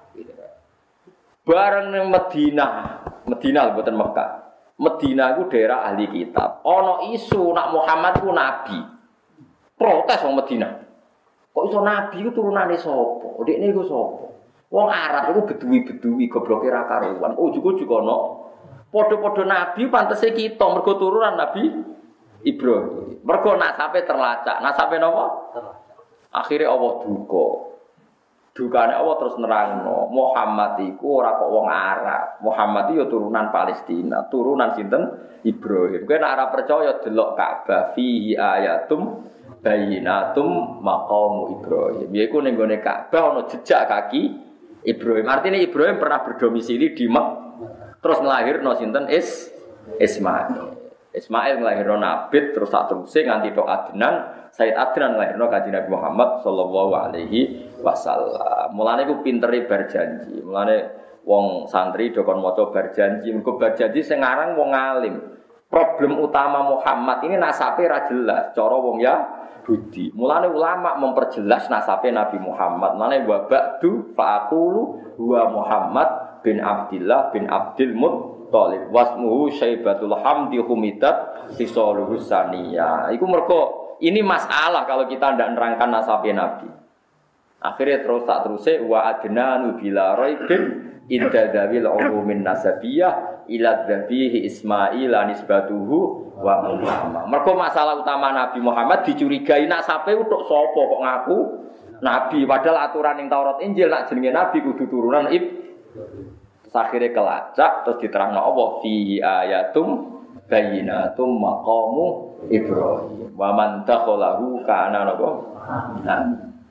Bareng ning Madinah, Madinah mboten Mekah. Madinah iku daerah ahli kitab. Ana isu nak Muhammad ku nabi. Protes wong Madinah. Kok iso nabi ku turunane sapa? Dekne iku sapa? Wong Arab iku beduwi-beduwi gobloke ra karuan. Ujug-ujug ana padha-padha nabi pantese kita mergo turunan Nabi Ibrahim. Mergo nasabe terlacak. Nasabe napa? Akhire Allah duka. Dukane Allah terus nerangno, Muhammad iku ora kok wong Arab. Muhammad iki ya turunan Palestina, turunan sinten? Ibrahim. Kowe nek ora percaya delok Ka'bah fihi ayatum bayyinatum maqamu Ibrahim. Yaiku ning gone Ka'bah ana jejak kaki Ibrahim. Artinya Ibrahim pernah berdomisili di Mekah. Terus nglahirno sinten? Is Ismail. Ismail nglahirno Nabi terus sak teruse nganti tok Adnan. Sayyid Adnan nglahirno Kanjeng Nabi Muhammad sallallahu alaihi wasallam. Mulane ku pintere berjanji. Mulane wong santri do kon maca berjanji, mergo berjanji sing aran wong alim. Problem utama Muhammad ini nasabe ra jelas cara wong Yahudi. Mulane ulama memperjelas nasabe Nabi Muhammad. Mulane wa ba'du fa aqulu huwa Muhammad bin Abdillah bin Abdul Muttalib. Thalib wasmuhu Syaibatul Hamdi humidat sisaluhu saniyah. Iku mergo ini masalah kalau kita ndak nerangkan nasabe Nabi. Akhirnya terus tak terusé wa adnanu bila raibin inda dzawil umumin nasabiyah ila dzabihi Ismail nisbatuhu wa Muhammad. Mergo masalah utama Nabi Muhammad dicurigai nak sape utuk sapa kok ngaku Nabi padahal aturan ning Taurat Injil nak jenenge Nabi kudu turunan ib. Akhirnya kelacak terus diterangno Allah fihi ayatum bayyinatum maqamu Ibrahim wa man takhalahu kana napa. Nah,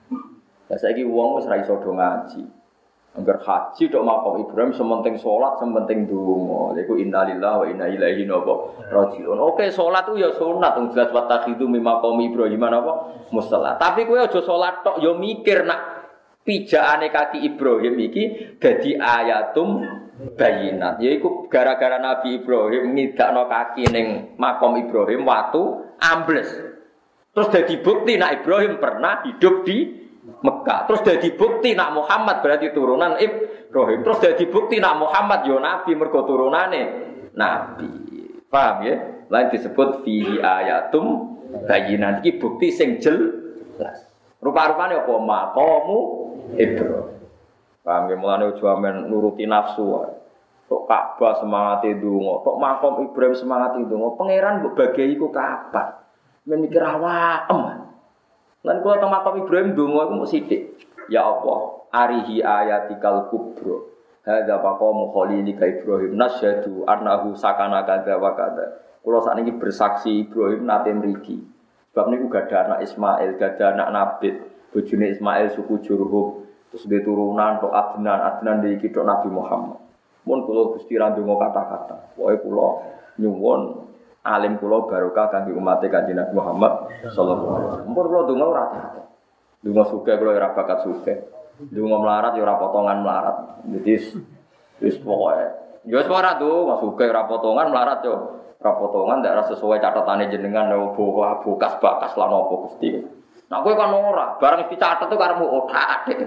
saiki wong wis ra iso do ngaji. Angger haji tok maqam Ibrahim sementing salat, sementing donga. Iku innalillahi wa inna ilaihi raji'un. Oke, salat ku ya sunat wong jelas wa takhidu mim maqam Ibrahim napa musalla. Tapi kowe aja salat tok ya mikir nak pijakane kaki Ibrahim iki dadi ayatum bayinat. Yaiku gara-gara Nabi Ibrahim ngidakno kaki ning maqam Ibrahim watu ambles. Terus dadi bukti nak Ibrahim pernah hidup di Mekah. Terus dadi bukti nak Muhammad berarti turunan Ibrahim. Terus dadi bukti nak Muhammad yo nabi mergo turunane nabi. Paham ya? Lain disebut fihi ayatum bayinat iki bukti sing jelas. Rupa-rupane apa maqamu Ibrahim. Paham ya? Mulane ojo amen nuruti nafsu. Tok Ka'bah semangate ndonga, tok maqam Ibrahim semangate ndonga. Pangeran mbok bagian iku kapan? Men mikir awake. Lan kula teng makam Ibrahim donga iku mung sithik. Ya Allah, arihi ayatikal kubra. Hadza maqamu khalilika Ibrahim nasyhadu annahu sakana kadza wa kadza. Kula sakniki bersaksi Ibrahim nate mriki. Sebab niku gadah anak Ismail, gadah anak Nabi. Bojone Ismail suku Jurhum, terus dhe turunan tok Adnan, Adnan iki tok Nabi Muhammad. Mun kula Gusti ra ndonga kata-kata. Pokoke kula nyuwun alim kula barokah kangge umat Kanjeng Nabi Muhammad sallallahu alaihi wasallam. Mumpun kula donga ora ate. Donga sugih kula ora bakat sugih. Donga melarat ya ora potongan melarat. Dadi wis pokoke ya wis ora donga sugih ora potongan melarat yo ora potongan ndak sesuai catetane jenengan yo bokas bakas lan apa Gusti. Nah kowe kan ora, bareng dicatet tuh karepmu otak atik.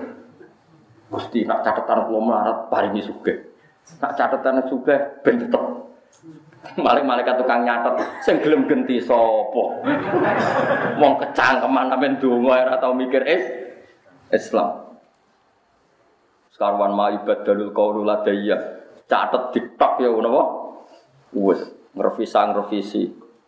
Gusti nak catetan kula melarat paringi sugih. Nak catetane sugih ben tetep maling malaikat tukang nyatet sing gelem genti sapa wong kecangkeman sampean donga ora tau mikir is Islam sekarwan ma ibadalul qaulul ladayya catet ditok ya napa wis ngrevisi ngrevisi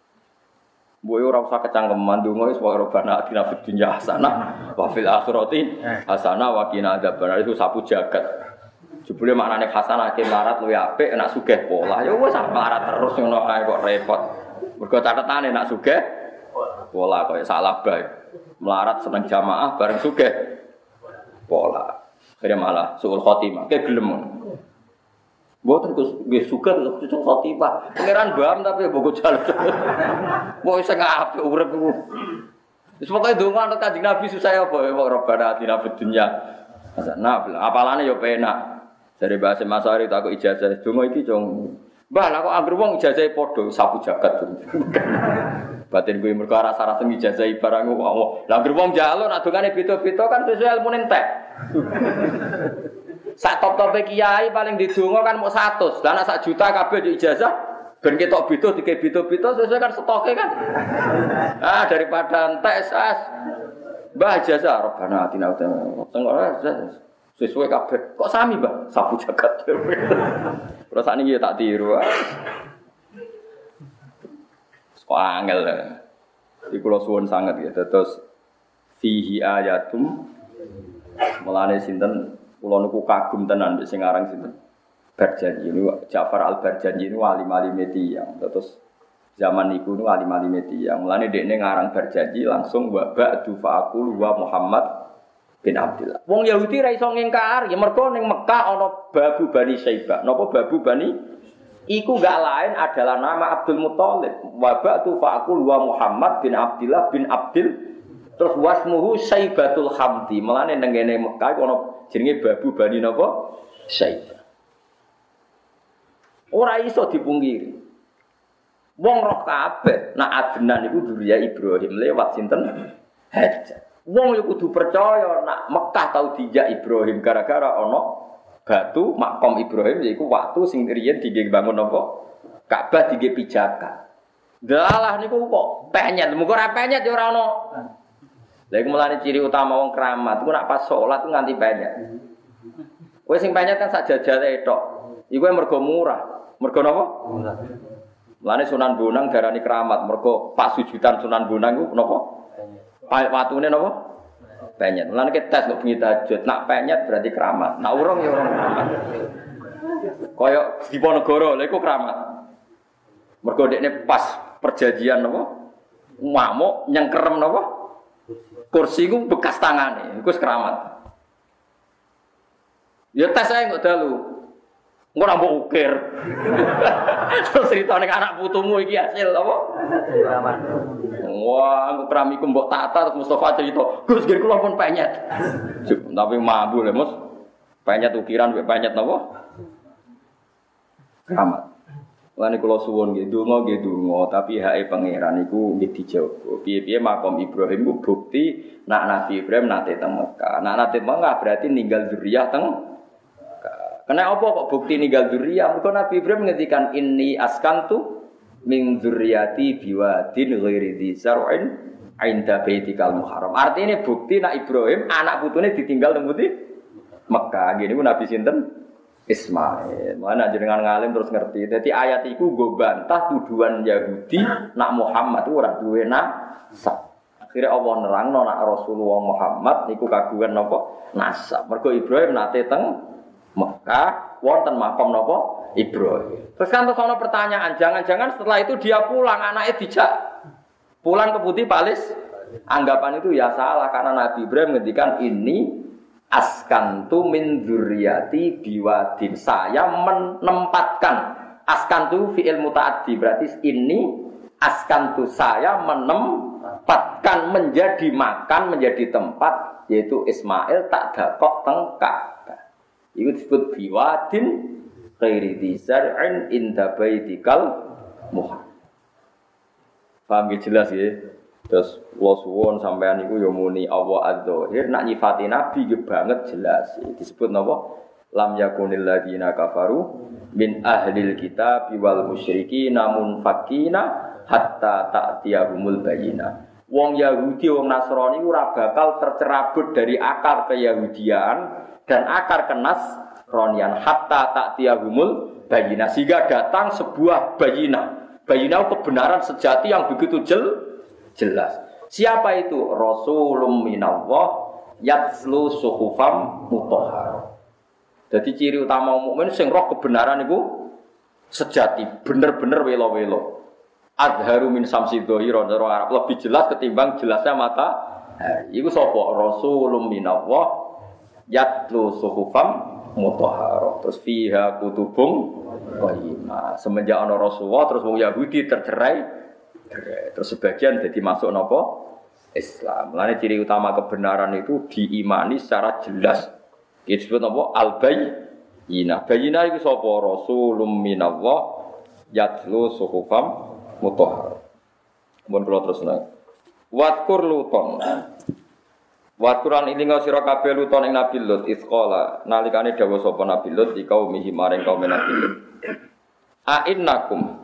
mbok ora usah kecangkeman donga wis wae robana atina fid dunya hasanah wa fil akhirati hasanah wa qina adzabannar itu sapu jagat. Jebule maknane hasanah ke melarat luwih apik nek sugih pola. Ya wis melarat terus ngono ae kok repot. Mergo catetane nek sugih pola koyo salah bae. Melarat seneng jamaah bareng sugih pola. Akhire malah suul khotimah. Ke gelem. Mboten Gus nggih sugih suul khotimah. Pangeran Bam tapi bogo jalan. Wong sing apik urip iku. Wis pokoke donga anut Kanjeng Nabi susah apa kok robana atina fid dunya. Nah, apalane yo penak. Dari bahasa Masari tak kok ijazah donga iki cung. Mbah lah kok anggere wong ijazahe padha sapu jagat. Batin kuwi mergo rasa-rasa ijazahi barang kok. Lah anggere wong njaluk nek dongane beda-beda kan sesuai ilmune entek. Sak top-tope kiai paling didonga kan mung seratus. Lah nek sak juta kabeh di ijazah ben ketok beda dike beda-beda sesuai kan stoke kan. Ah daripada entek sas. Mbah ijazah robana atina tengok sesuai kabeh. Kok sami, Mbah? Sapu jagat. Terus sakniki ya tak tiru. Kok angel. Iki kula suwun sanget ya. Terus fihi ayatum mulane sinten kula niku kagum tenan sing aran sinten. Barjanji niku Ja'far Al-Barjanji niku wali-wali Tiyang. Terus zaman niku niku wali-wali Tiyang. Mulane dekne ngarang Barjanji langsung wa ba'du fa'aqul wa Muhammad bin Abdullah. Wong Yahudi ra iso ngingkar, ya mergo ning Mekah ana Babu Bani Syaibah. Napa Babu Bani? Iku gak lain adalah nama Abdul Muthalib. Wa ba'du fa'aqul wa Muhammad bin Abdullah bin Abdil. Terus wasmuhu Syaibatul Hamdi. Mulane ning ngene Mekah ana jenenge Babu Bani napa? Syaibah. Ora iso dipungkiri. Wong roh kabeh nak Adnan iku durya Ibrahim lewat sinten? Hajar. Wong yo kudu percaya nak Mekah tau dijak Ibrahim gara-gara ana batu makom Ibrahim yaiku waktu sing riyen dige bangun apa? Ka'bah dige pijakan. Dalah niku kok penyet, muga ora penyet ya ora ono. Lha iku mulane ciri utama wong keramat, iku nek pas salat ku nganti penyet. Kowe sing penyet kan sak jajale tok. Iku mergo murah. Mergo napa? Murah. Mulane Sunan Bonang darani keramat, mergo pas sujudan Sunan Bonang iku napa? Penyet. Watune napa? Penyet. Mulane ke tes kok bengi tahajud, nak penyet berarti keramat. Nak urung ya urung keramat. Kaya Diponegoro, lha iku keramat. Mergo dekne pas perjanjian napa? Ngamuk nyengkerem napa? Kursi ku bekas tangane, iku keramat. Ya tes ae kok dalu. Engko ora mbok ukir. Terus critane anak putumu iki hasil apa? Keramat. Wah, aku pramiku mbok tata terus Mustafa cerita, "Gus, nggih kula pun penyet." Tapi mambu lho, Mus. Penyet ukiran mek penyet napa? Keramat. Lan kula suwun nggih donga nggih donga, tapi hake pangeran iku nggih dijaga. Piye-piye makom Ibrahim ku bukti nak Nabi Ibrahim nate teng Mekah. Nak nate Mekah berarti ninggal zuriyah teng Mekah. Kena apa kok bukti ninggal zuriyah? Mergo Nabi Ibrahim ngendikan inni askantu min dzurriyyati biwadin ghairi dzar'in 'inda baitikal muharram. Artinya bukti nak Ibrahim anak putune ditinggal teng pundi? Mekah. Ngene ku Nabi sinten? Ismail. Mana jenengan ngalim terus ngerti. Jadi ayat iku go bantah tuduhan Yahudi nak Muhammad itu ora duwe nasab. Akhire Allah nerangno nak Rasulullah Muhammad niku kagungan napa? Nasab. Mergo Ibrahim nate teng Mekah wonten makom napa? Ibrahim. Terus kan terus ana pertanyaan, jangan-jangan setelah itu dia pulang anaknya dijak pulang ke putih Palis. Anggapan itu ya salah karena Nabi Ibrahim ngendikan ini askantu min dzurriyyati biwadin. Saya menempatkan askantu fi'il mutaaddi berarti ini askantu saya menempatkan menjadi makan menjadi tempat yaitu Ismail tak dakok teng Ka'bah. Itu disebut biwadin ghairi dzar'in inda baitikal muharram. Paham jelas ya? Terus kula suwun sampean iku ya muni Allah adz-dzahir nak nyifati nabi ge banget jelas. Disebut napa? Lam yakunil ladina kafaru min ahlil kitab wal musyrikin namun fakina hatta ta'tiyahumul bayyinah. Wong Yahudi wong Nasrani ora bakal tercerabut dari akar keyahudian dan akar kenasranian hatta ta'tiyahumul bayyinah sehingga datang sebuah bayyinah. Bayyinah kebenaran sejati yang begitu jelas. Jelas. Siapa itu? Rasulun minallah yatslu suhufam mutahharah. Jadi ciri utama mukmin sing roh kebenaran itu sejati, bener-bener welo-welo. Adharu min samsi dhahira cara Arab lebih jelas ketimbang jelasnya mata. Iku sapa? Rasulun minallah yatslu suhufam mutahharah. Terus fiha kutubun qayyimah. Semenjak ana Rasulullah terus wong Yahudi tercerai. Terus sebagian jadi masuk nopo Islam. Mulane ciri utama kebenaran itu diimani secara jelas. Itu disebut nopo al-bayyinah. Bayyinah itu sapa? Rasulun minallah yatlu suhufam mutahharah. Mun kula terusna. Wadkur luton. Wadkuran ilinga sira kabeh luton ing Nabi Lut isqala nalikane dawuh sapa Nabi Lut di kaum mihi maring kaum Nabi Lut. A innakum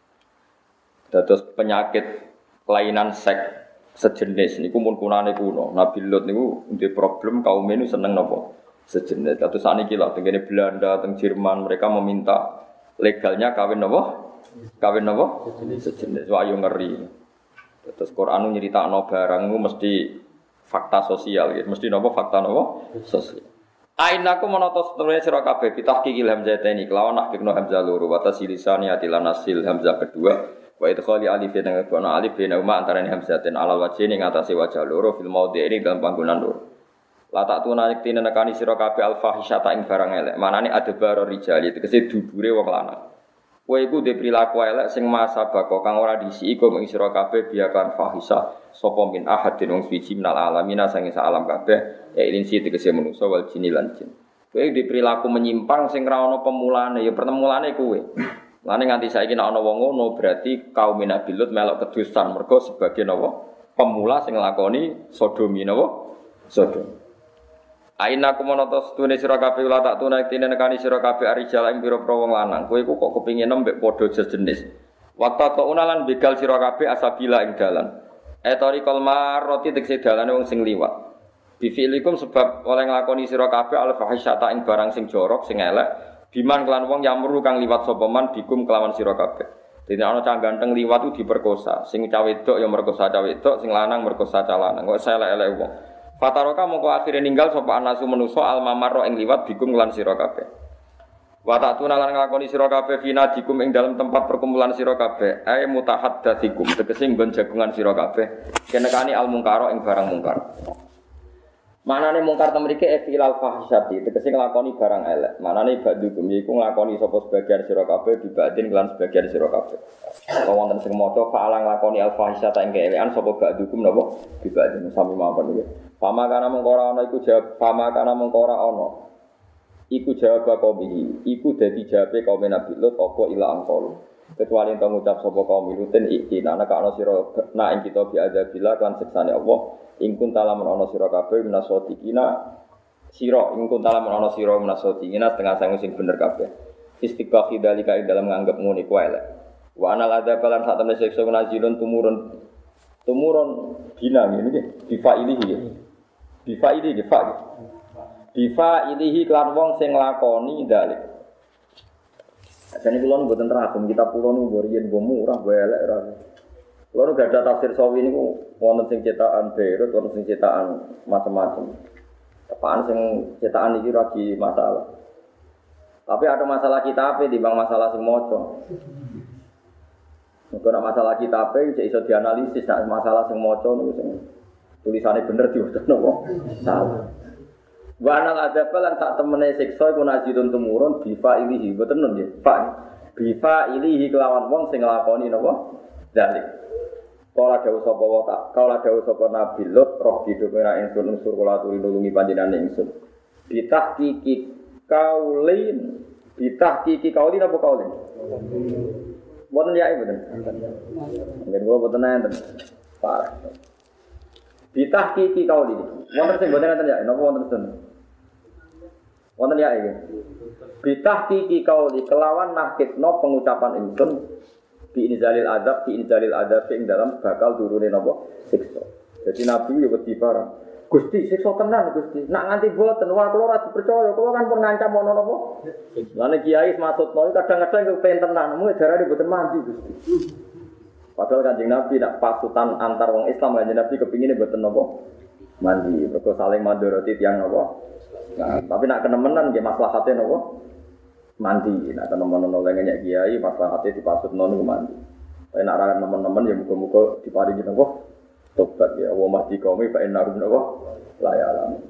dados penyakit kelainan seks sejenis niku mun kunane kuno. Nabi Lut niku ndek problem kaum ini seneng napa? Sejenis. Dados sakniki lho tengene Belanda, teng Jerman mereka meminta legalnya kawin napa? Kawin napa? Sejenis. Wah yo ngeri. Dados Quran nyeritakno barang niku mesti fakta sosial gitu. Mesti napa fakta napa? Sosial. Ainaku menata setelahnya sira kabeh bitahqiqil hamzataini kelawan nahqiqno hamzah loro wa tasilisani atilan nasil hamzah kedua. Wa idkhali alif dengan kono alif bena uma antarané hamzatin alal wajhi ning atase wajah loro fil maudhi ini dalam panggonan loro. La tak tuna yektine nekani sira kabeh al fahisyata ing barang elek. Manane adbar rijali tegese dubure wong lanang. Kowe iku dhe prilaku elek sing masa bako kang ora disi iku ing sira kabeh biakan fahisah sapa min ahadin wong suci minal alamina sange sak alam kabeh ya ilin si tegese manusa wal jin lan jin. Kowe dhe prilaku menyimpang sing ra ana pemulane ya pertemulane kowe. Lane nganti saiki nek ana wong ngono berarti kaum Nabi Lut melok kedusan mergo sebagai napa? Pemula sing nglakoni sodomi napa? Sodom. Aina kumonotos tune sira kabeh ula tak tunai tine nekani sira kabeh arijal ing pira-pira wong lanang. Kowe iku kok kepingin mbek padha sejenis. Waktu kok unalan begal sira kabeh asabila ing dalan. Etori kolmar roti tekse dalane wong sing liwat. Bifiilikum sebab oleh nglakoni sira kabeh al fahisyata ing barang sing jorok sing elek. Biman kelan wong yamru kang liwat sapa man bikum kelawan sira kabeh. Dene ana cah ganteng liwat ku diperkosa, sing cah wedok ya merkosa cah wedok, sing lanang merkosa cah lanang. Kok elek-elek wong. Fataroka mongko akhire ninggal sapa anasu manusa almamarro ing liwat bikum lan sira kabeh. Wa ta'tuna lan nglakoni sira kabeh fina dikum ing dalam tempat perkumpulan sira kabeh, ae mutahaddatsikum tegese nggon jagungan sira kabeh. Kenekani al mungkaro ing barang mungkar. Manane mungkar temrike efilal fahisyati tegese nglakoni barang elek. Manane badhukum iku nglakoni sapa sebagian sira kabeh dibadin lan sebagian sira kabeh. Apa wonten sing maca fa'alang nglakoni al fahisyata ing keelekan sapa badhukum napa dibadin sami mawon iki. Pama kana mung ora ana iku jawab pama kana mung ora ana. Iku jawab kaum iki. Iku dadi jawabe kaum Nabi Lut apa ila angkol. Kecuali ento ngucap sapa kaum Lutin iki ana kana sira na ing kita bi adzabillah kan siksane Allah. Ingkun talamun ana sira kabeh minasotikina sira ingkun talamun ana sira minasotikina setengah sangu sing bener kabeh istiqaqi dalika ing dalam nganggep ngene kuwi elek wa anal adzab lan sak temene siksa nazilun tumurun tumurun bina ngene iki difa ilihi difa ilihi difa difa ilihi kelan wong sing nglakoni dalik ajane kula mboten teragum kita pulo niku riyen go murah go elek ra. Kalau nggak ada tafsir sawi ini, wonten sing cetakan Beirut, wonten sing cetakan macam-macam. Apaan sing cetakan ini lagi masalah. Tapi ada masalah kitab di bang masalah sing moco. Kalau masalah kitab itu bisa dianalisis. Nah, masalah sing moco itu sing tulisannya bener diutus nopo salah. Wanal ada pelan saat temene siksa iku nazilun tumurun bifa ilihi boten nun nggih. Fa bifa ilihi kelawan wong sing nglakoni napa? Dalik. Kala dawuh sapa wa ta, kala dawuh sapa Nabi Lut roh didhukira ingsun unsur kula aturi nulungi panjenengan ingsun. Bitahqiqi kaulin, bitahqiqi kaulin apa kaulin? Boten ya boten. Nggih kula boten enten. Parah. Bitahqiqi kaulin. Wonten sing boten enten ya, napa wonten sen? Wonten ya iki. Bitahqiqi kauli kelawan nahkitno pengucapan ingsun. Di inzalil adab, di inzalil adab ing dalam bakal turunin apa? Siksa. Jadi Nabi yo wedi barang. Gusti, siksa tenan Gusti. Nak nganti boten wah kula ora dipercaya, kula kan pun ngancam ono napa? Lane kiai maksudno kadang-kadang yo pengen tenan, mung darane boten mandi Gusti. Padahal Kanjeng Nabi nak pasutan antar wong Islam Kanjeng Nabi kepingine boten napa? Mandi, mergo saling mandoroti tiyang napa? Nah, tapi nak kenemenan nggih maslahate napa? Mandi, nak teman-teman oleh ngeyak kiai, masalah hati dipasut nonu mandi. Tapi nak rakyat teman-teman ya muka-muka diparingi nopo tobat ya. Wa mahdi kaumi fa innarum nopo la ya'lam.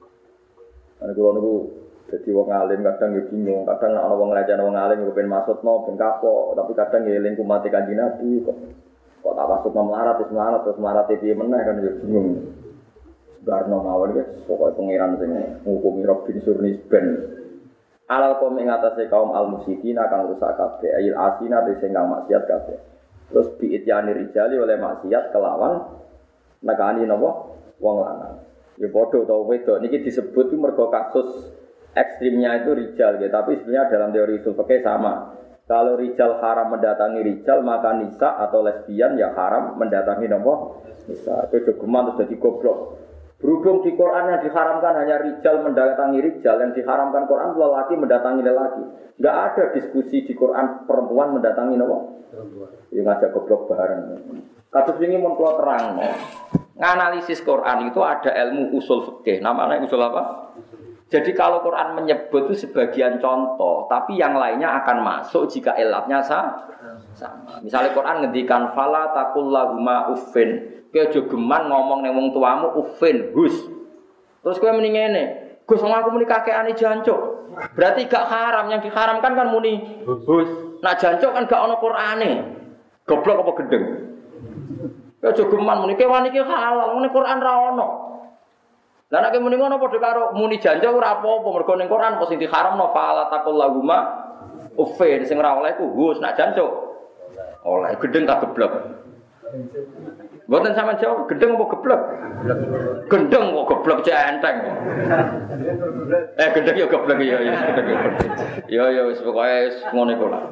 Ane kula niku dadi wong alim kadang ya bingung, kadang ana wong ngajak wong alim kok ben maksudno ben kapok, tapi kadang ya eling kumate Kanjeng Nabi kok. Kok tak maksudno melarat terus melarat terus melarat piye meneh kan ya bingung. Barno mawon guys, pokoke pangeran sing ngukumi Rabbin Surnis ben. Alal kaum ing atase kaum al-musyidina kang rusak kabeh ayil asina sing kang maksiat kabeh. Terus biityani rijali oleh maksiat kelawan nekani napa wong lanang. Ya padha utawa wedok niki disebut itu mergo kasus ekstrimnya itu rijal ya, tapi sebenarnya dalam teori usul fikih sama. Kalau rijal haram mendatangi rijal, maka nisa atau lesbian ya haram mendatangi napa nisa. Itu jogeman terus dadi goblok. Berhubung di Quran yang diharamkan hanya rijal mendatangi rijal, yang diharamkan Quran lelaki mendatangi lelaki. Enggak ada diskusi di Quran perempuan mendatangi nopo. Ya ngajak goblok bareng. Kados wingi mun kula terang. Nganalisis Quran itu ada ilmu usul fikih. Namanya usul apa? Jadi kalau Quran menyebut itu sebagian contoh, tapi yang lainnya akan masuk jika ilatnya sama. Misalnya Quran ngendikan fala taqul lahuma uffin. Kowe aja geman ngomong ning wong tuamu uffin, hus. Terus kowe muni ngene, Gus wong aku muni kakekane jancuk. Berarti gak haram, yang diharamkan kan muni hus. Nak jancuk kan gak ana Qur'ane. Goblok apa gendeng? Kowe aja geman muni kewan iki halal, muni Qur'an ra ono. Lah nek muni ngono padha karo muni jancuk ora apa-apa, mergo ning Qur'an apa sing diharamno fala taqul lahuma uffin, sing ora oleh ku hus nak jancuk. Oleh gendeng tak geblok. Mboten sampean jawab gendeng apa geblek? Gendeng kok geblek centeng. Eh gendeng ya geblek ya ya gendeng ya. Ya ya wis pokoke wis ngono iku lah.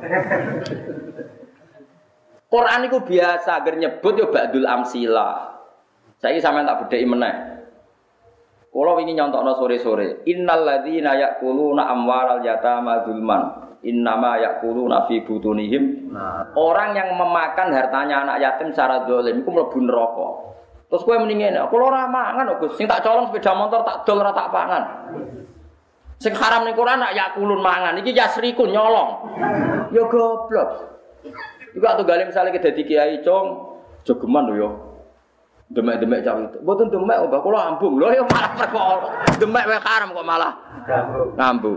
Quran iku biasa agar nyebut ya ba'dul amsilah. Saiki sampean tak bedheki meneh. Kula wingi nyontokno sore-sore, innal ladzina ya'kuluna amwaral yatama zulman. Innama ya'kuluna fi butunihim. Nah, orang yang memakan hartanya anak yatim secara zalim iku mlebu neraka. Terus kowe muni ngene, kula ora mangan kok Gus, sing tak colong sepeda motor tak dol ora tak pangan. Sing haram ning Quran nak yakulun mangan, iki yasrikun nyolong. Ya goblok. Iku atuh gale misale ke dadi kiai cong, jogeman lho ya. Demek-demek cah itu. Mboten demek kok kula ambung. Lho ya malah perkara. Demek wae haram kok malah ngambung.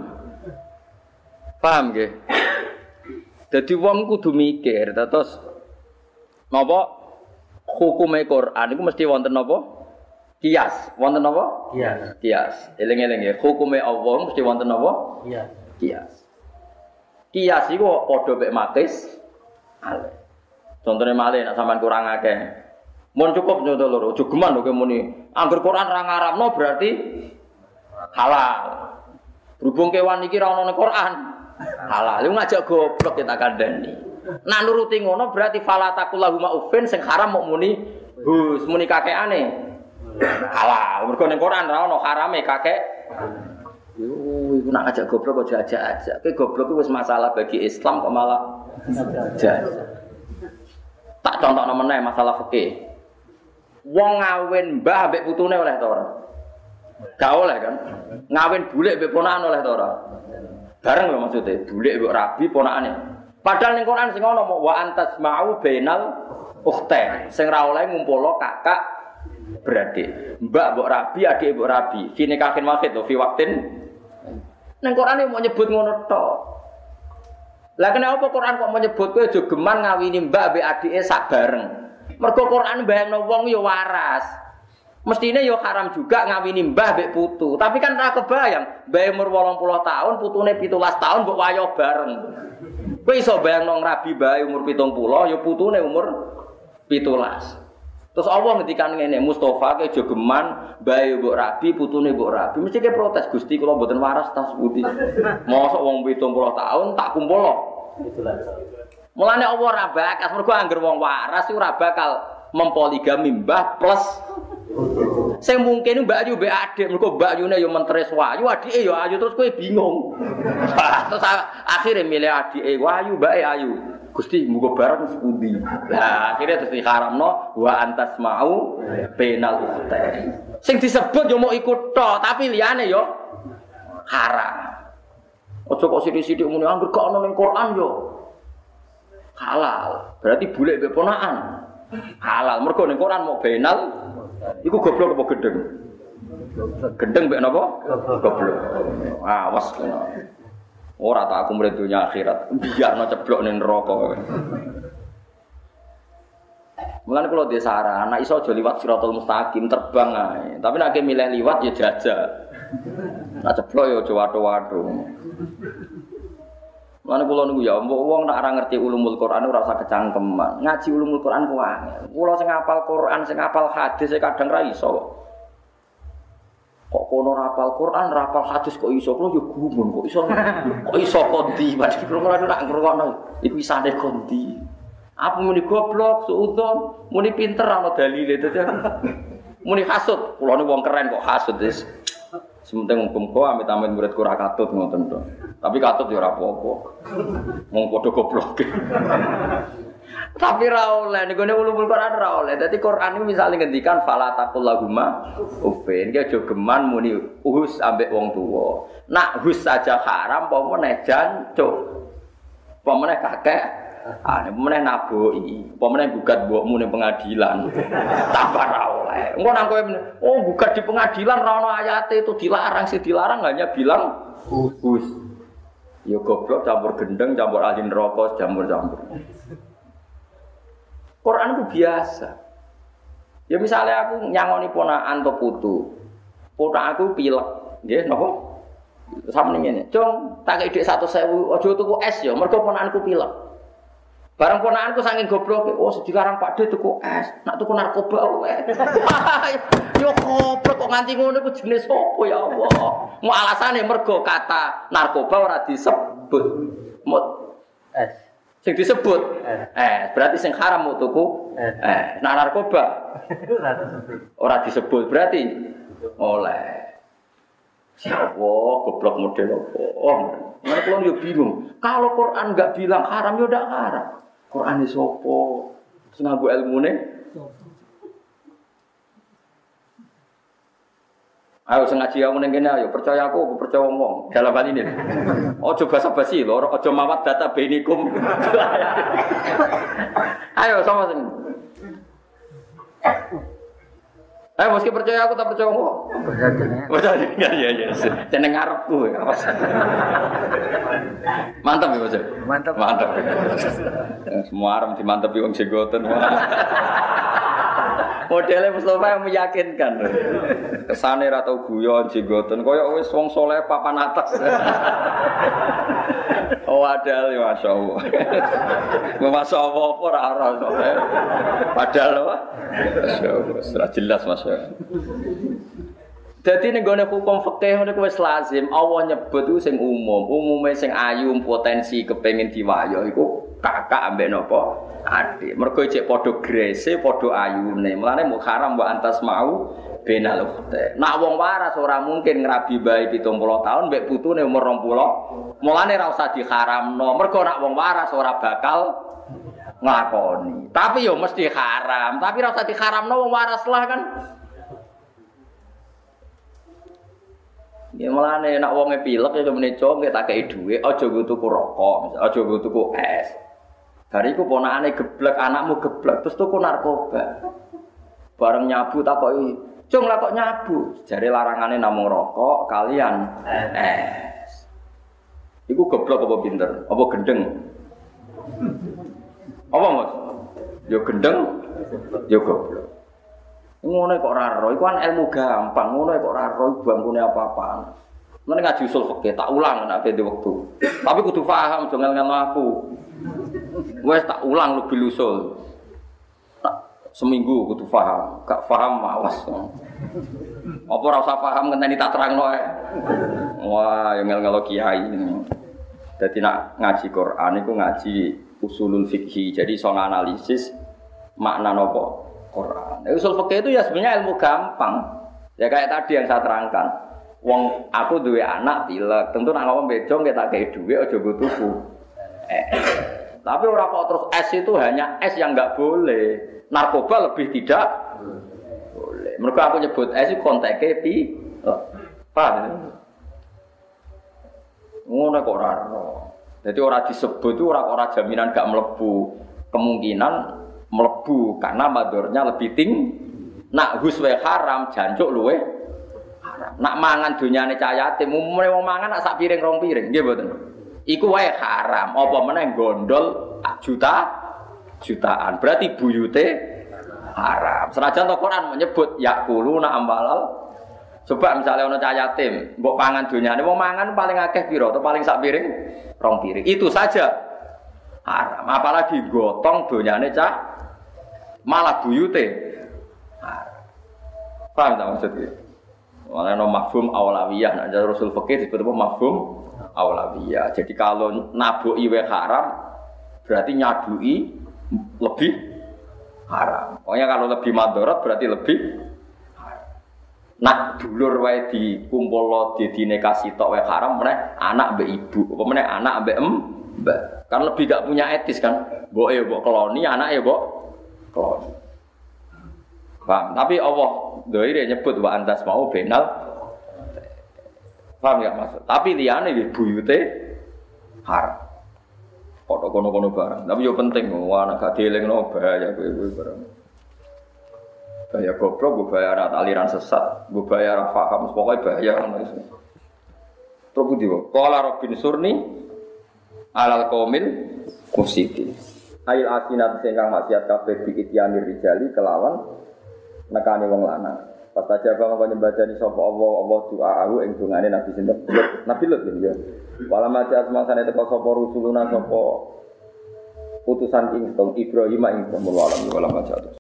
Paham nggih? Dadi wong kudu mikir, terus napa hukume Quran iku mesti wonten napa? Kias. Wonten napa? Kias. Kias. Eling-eling nggih, hukume Allah mesti wonten napa? Kias. Kias. Kias iku padha mek makis ale. Contone malih nek sampean kurang akeh. Mun cukup nyoto loro, aja geman lho kowe muni. Angger Quran ra ngaramno berarti halal. Berhubung kewan iki ra ono ning Quran. Halal. Lu ngajak goblok kita kandhani. Nah nuruti ngono berarti fala taqulahuma uffin sing haram mok muni hus muni kakekane. Halal. Mergo ning Quran ra ono harame kakek. Yo iku nak ngajak goblok kok jajak-ajak. Kowe goblok ku wis masalah bagi Islam kok malah jajak. Tak contohno meneh masalah fikih. Wong ngawin mbah mbek putune oleh ta ora? Gak oleh kan? Ngawin bulik mbek ponakan oleh ta ora? Bareng lho maksude, bulik mbek rabi ponakane. Padahal ning Quran sing ono wa antas ma'u bainal ukhtain. Sing ra oleh ngumpulno kakak beradik. Mbak mbok rabi, adik mbok rabi. Fi nikahin wahid lho fi waqtin. Ning Quran mau nyebut ngono tok. Lah kenapa Quran kok menyebut kowe aja geman ngawini mbak mbek adike sak bareng? Mergo Quran bayangno wong ya waras. Mestine ya haram juga ngawini mbah mbek putu. Tapi kan ora kebayang, mbah umur wolong puluh tahun, putune pitulas tahun mbok wayo bareng. Kowe iso bayangno ngrabi mbah umur pitung puluh, ya putune umur pitulas. Terus Allah ngendikan ngene, Mustofa ke jogeman mbah mbok rabi, putune mbok rabi. Mesti ke protes, Gusti kula mboten waras tas putih. Mosok wong pitung puluh tahun tak kumpulno. Pitulas. Mulane Allah ora bakas, mergo angger wong waras ora bakal mempoligami mbah plus sing mungkin Mbak Ayu mbek adik, mergo Mbak Ayune ya menteres wayu, adike ya ayu terus kowe bingung. Terus akhire milih adike wayu, mbake ayu. Gusti muga bareng sepundi. Lah akhire terus diharamno wa antas mau penal ukhtain. Sing disebut ya mau ikut tok, tapi liyane ya haram. Aja kok sithik-sithik muni angger gak ono ning Quran yo. Halal. Berarti bulik mbek ponakan. Halal. Mergo ning Quran mau benal iku goblok apa gendeng? Gendeng mbek napa? Goblok. Awas kena. Ora tak aku mrene dunya akhirat. Biarno ceblok ning neraka. Mulane kula dhe saran, nek iso aja liwat Siratal Mustaqim terbang ae. Tapi nek milih liwat ya jajak. Nek ceblok ya aja watho-watho. Mulane kula niku ya wong nek ora ngerti ulumul Quran ora usah kecangkeman. Ngaji ulumul Quran ku angel. Kula sing hafal Quran, sing hafal hadis kadang ra iso. Kok kono rapal Quran, rapal hadis kok iso? Kula yo gumun kok iso. Kok iso kondi? Padahal kula ora ngrungokno. Iku isane kondi. Apa muni goblok, suudon, muni pinter ana dalile dadi. Muni hasud, kula niku wong keren kok hasud wis. Sementing hukum-hukum amit-amit muridku ora katut ngoten to. Tapi katut ya ora apa-apa. Wong padha goblok. Tapi ra oleh niku ulumul Quran ra oleh. Dadi Quran iki misale ngendikan fala taqul lahuma uffin, ki aja geman muni uhus ambek wong tuwa. Nak hus saja haram apa meneh jancuk. Apa meneh kakek? Ah nek meneh naboki. Apa meneh gugat mbokmu ning pengadilan. Tambah ra oleh. Engko nang kowe oh gugat di pengadilan ra ono ayate itu dilarang, sing dilarang hanya bilang uhus. Ya goblok campur gendeng, campur ahli neraka, campur-campur. Quran itu biasa. Ya misalnya aku nyangoni ponakan atau putu. Ponak aku pilek, nggih napa? Sampeyan ngene, "Cung, tak ide satu sewu, aja tuku es ya, mergo ponakanku pilek." Barang ponakanku saking gobloke, oh dilarang Pak De tuku es, nak tuku narkoba wae. Yo goblok kok nganti ngono iku jenis apa ya Allah. Mau alasane mergo kata narkoba ora disebut. Mut es. Sing disebut es. Eh, berarti sing haram mau tuku es. Eh, nah narkoba ora disebut. Ora disebut berarti oleh. Ya Allah, goblok model apa? Oh, mana kalau dia bingung. Kalau Quran enggak bilang haram, ya udah haram. Quran ini sopo, sengagu ilmu nih. Ayo sengaji aku nengkene, ayo percaya aku, aku percaya ngomong. Dalam hal ini, ojo basa-basi lho, ojo mawat data benikum. Ayo sama sini. Eh, meski percaya aku tak percaya kok. Percaya enggak ya ya. Jeneng ngarepku. Mantap ya, Mas. Mantap. Mantap. Semua arem dimantepi wong jenggoten. Modelnya Mustafa yang meyakinkan. Kesane ra tau guyon jenggoten koyo wis wong saleh papan atas. Oh padahal ya masyaallah. Masyaallah apa ora ora saleh. Padahal apa? Masyaallah jelas masyaallah. Dadi ning gone hukum fikih ngono kuwi wis lazim Allah nyebut ku sing umum, umume sing ayu potensi kepengin diwayo iku kakak ambek napa? Adik. Mergo cek padha grese, padha ayune. Mulane mung haram wa antas mau benal ukhte. Nak wong waras ora mungkin ngrabi bae pitung puluh tahun mbek putune umur rong puluh. Mulane ra usah diharamno. Mergo nak wong waras ora bakal nglakoni. Tapi yo mesti haram. Tapi ra usah diharamno wong waras lah kan. Ya mulane nak wonge pilek ya meneh cong tak kei dhuwit, aja nggo tuku rokok, misal aja nggo tuku es. Hari iku ponakane geblek, anakmu geblek terus tuku narkoba. Bareng nyabu takoki, "Cung lah kok nyabu?" Jare larangane namung rokok kalian es. Iku geblek apa pinter? Apa gendeng? Apa Mas? Yo gendeng, yo goblok. Ngono kok ora ro, iku kan ilmu gampang, ngono kok ora ro bangkune apa-apaan. Mene ngaji usul fikih tak ulang nek ada waktu. Tapi kudu paham aja ngel-ngel aku. Wes tak ulang lebih usul. Seminggu kudu paham, gak paham mawas. Apa ora usah paham ngenteni tak terangno ae. Wah, yang ngel-ngel kiai. Dadi nak ngaji Quran iku ngaji usulul fikih. Jadi iso analisis makna napa Quran. Usul fikih itu ya sebenarnya ilmu gampang. Ya kayak tadi yang saya terangkan. Wong aku duwe anak pilek, tentu nak ngomong bejo nggih tak kei dhuwit aja nggo tuku. Eh. Tapi ora kok terus es itu hanya es yang enggak boleh. Narkoba lebih tidak boleh. Mergo aku nyebut es itu konteke pi. Paham? Ngono kok ora. Jadi ora disebut itu ora ora jaminan gak mlebu. Kemungkinan mlebu karena madornya lebih tinggi. Nak huswe haram jancuk luwe haram. Nak mangan dunyane cah yatim umumane wong mangan nak sak piring rong piring nggih mboten. Iku wae haram. Apa meneh gondol juta jutaan. Berarti buyute haram. Senajan to Quran menyebut yakuluna ambalal. Coba misalnya ana cah yatim, mbok pangan dunyane wong mangan paling akeh pira atau paling sak piring rong piring. Itu saja haram. Apalagi gotong dunyane cah malah buyute haram. Paham tak maksudnya? Mana no mafhum awlawiyah, nak jadi Rasul fikih disebut apa mafhum awlawiyah. Jadi kalau nabuki we haram, berarti nyadui lebih haram. Pokoknya kalau lebih madharat berarti lebih haram. Nak dulur wae dikumpulno didine kasih tok wae haram, meneh anak mbek ibu, apa meneh anak mbek em, mbak. Kan lebih gak punya etis kan. Mbok ya mbok keloni, anak ya mbok keloni. Paham? Tapi Allah doire nyebut wa antas mau benal. Paham ya maksud? Tapi liyane iki buyute haram. Kok kono-kono barang. Tapi yo penting wah nek gak dielingno bahaya kowe-kowe barang. Bahaya goblok, bahaya aliran sesat, bahaya paham, pokoke bahaya ngono iso. Terus pundi wae? Qala Rabbin surni alal qaumil mufsidin. Ail asinat sing kang maksiat kabeh diitiani rijali kelawan nekane wong lanang. Pas aja bang kok nyembadani sapa Allah Allah doa ing dongane Nabi sinten? Nabi Lut ya. Wala maca asmasane teko sapa rusuluna sapa utusan ingkang Ibrahim ingkang mulo alam wala majatuh.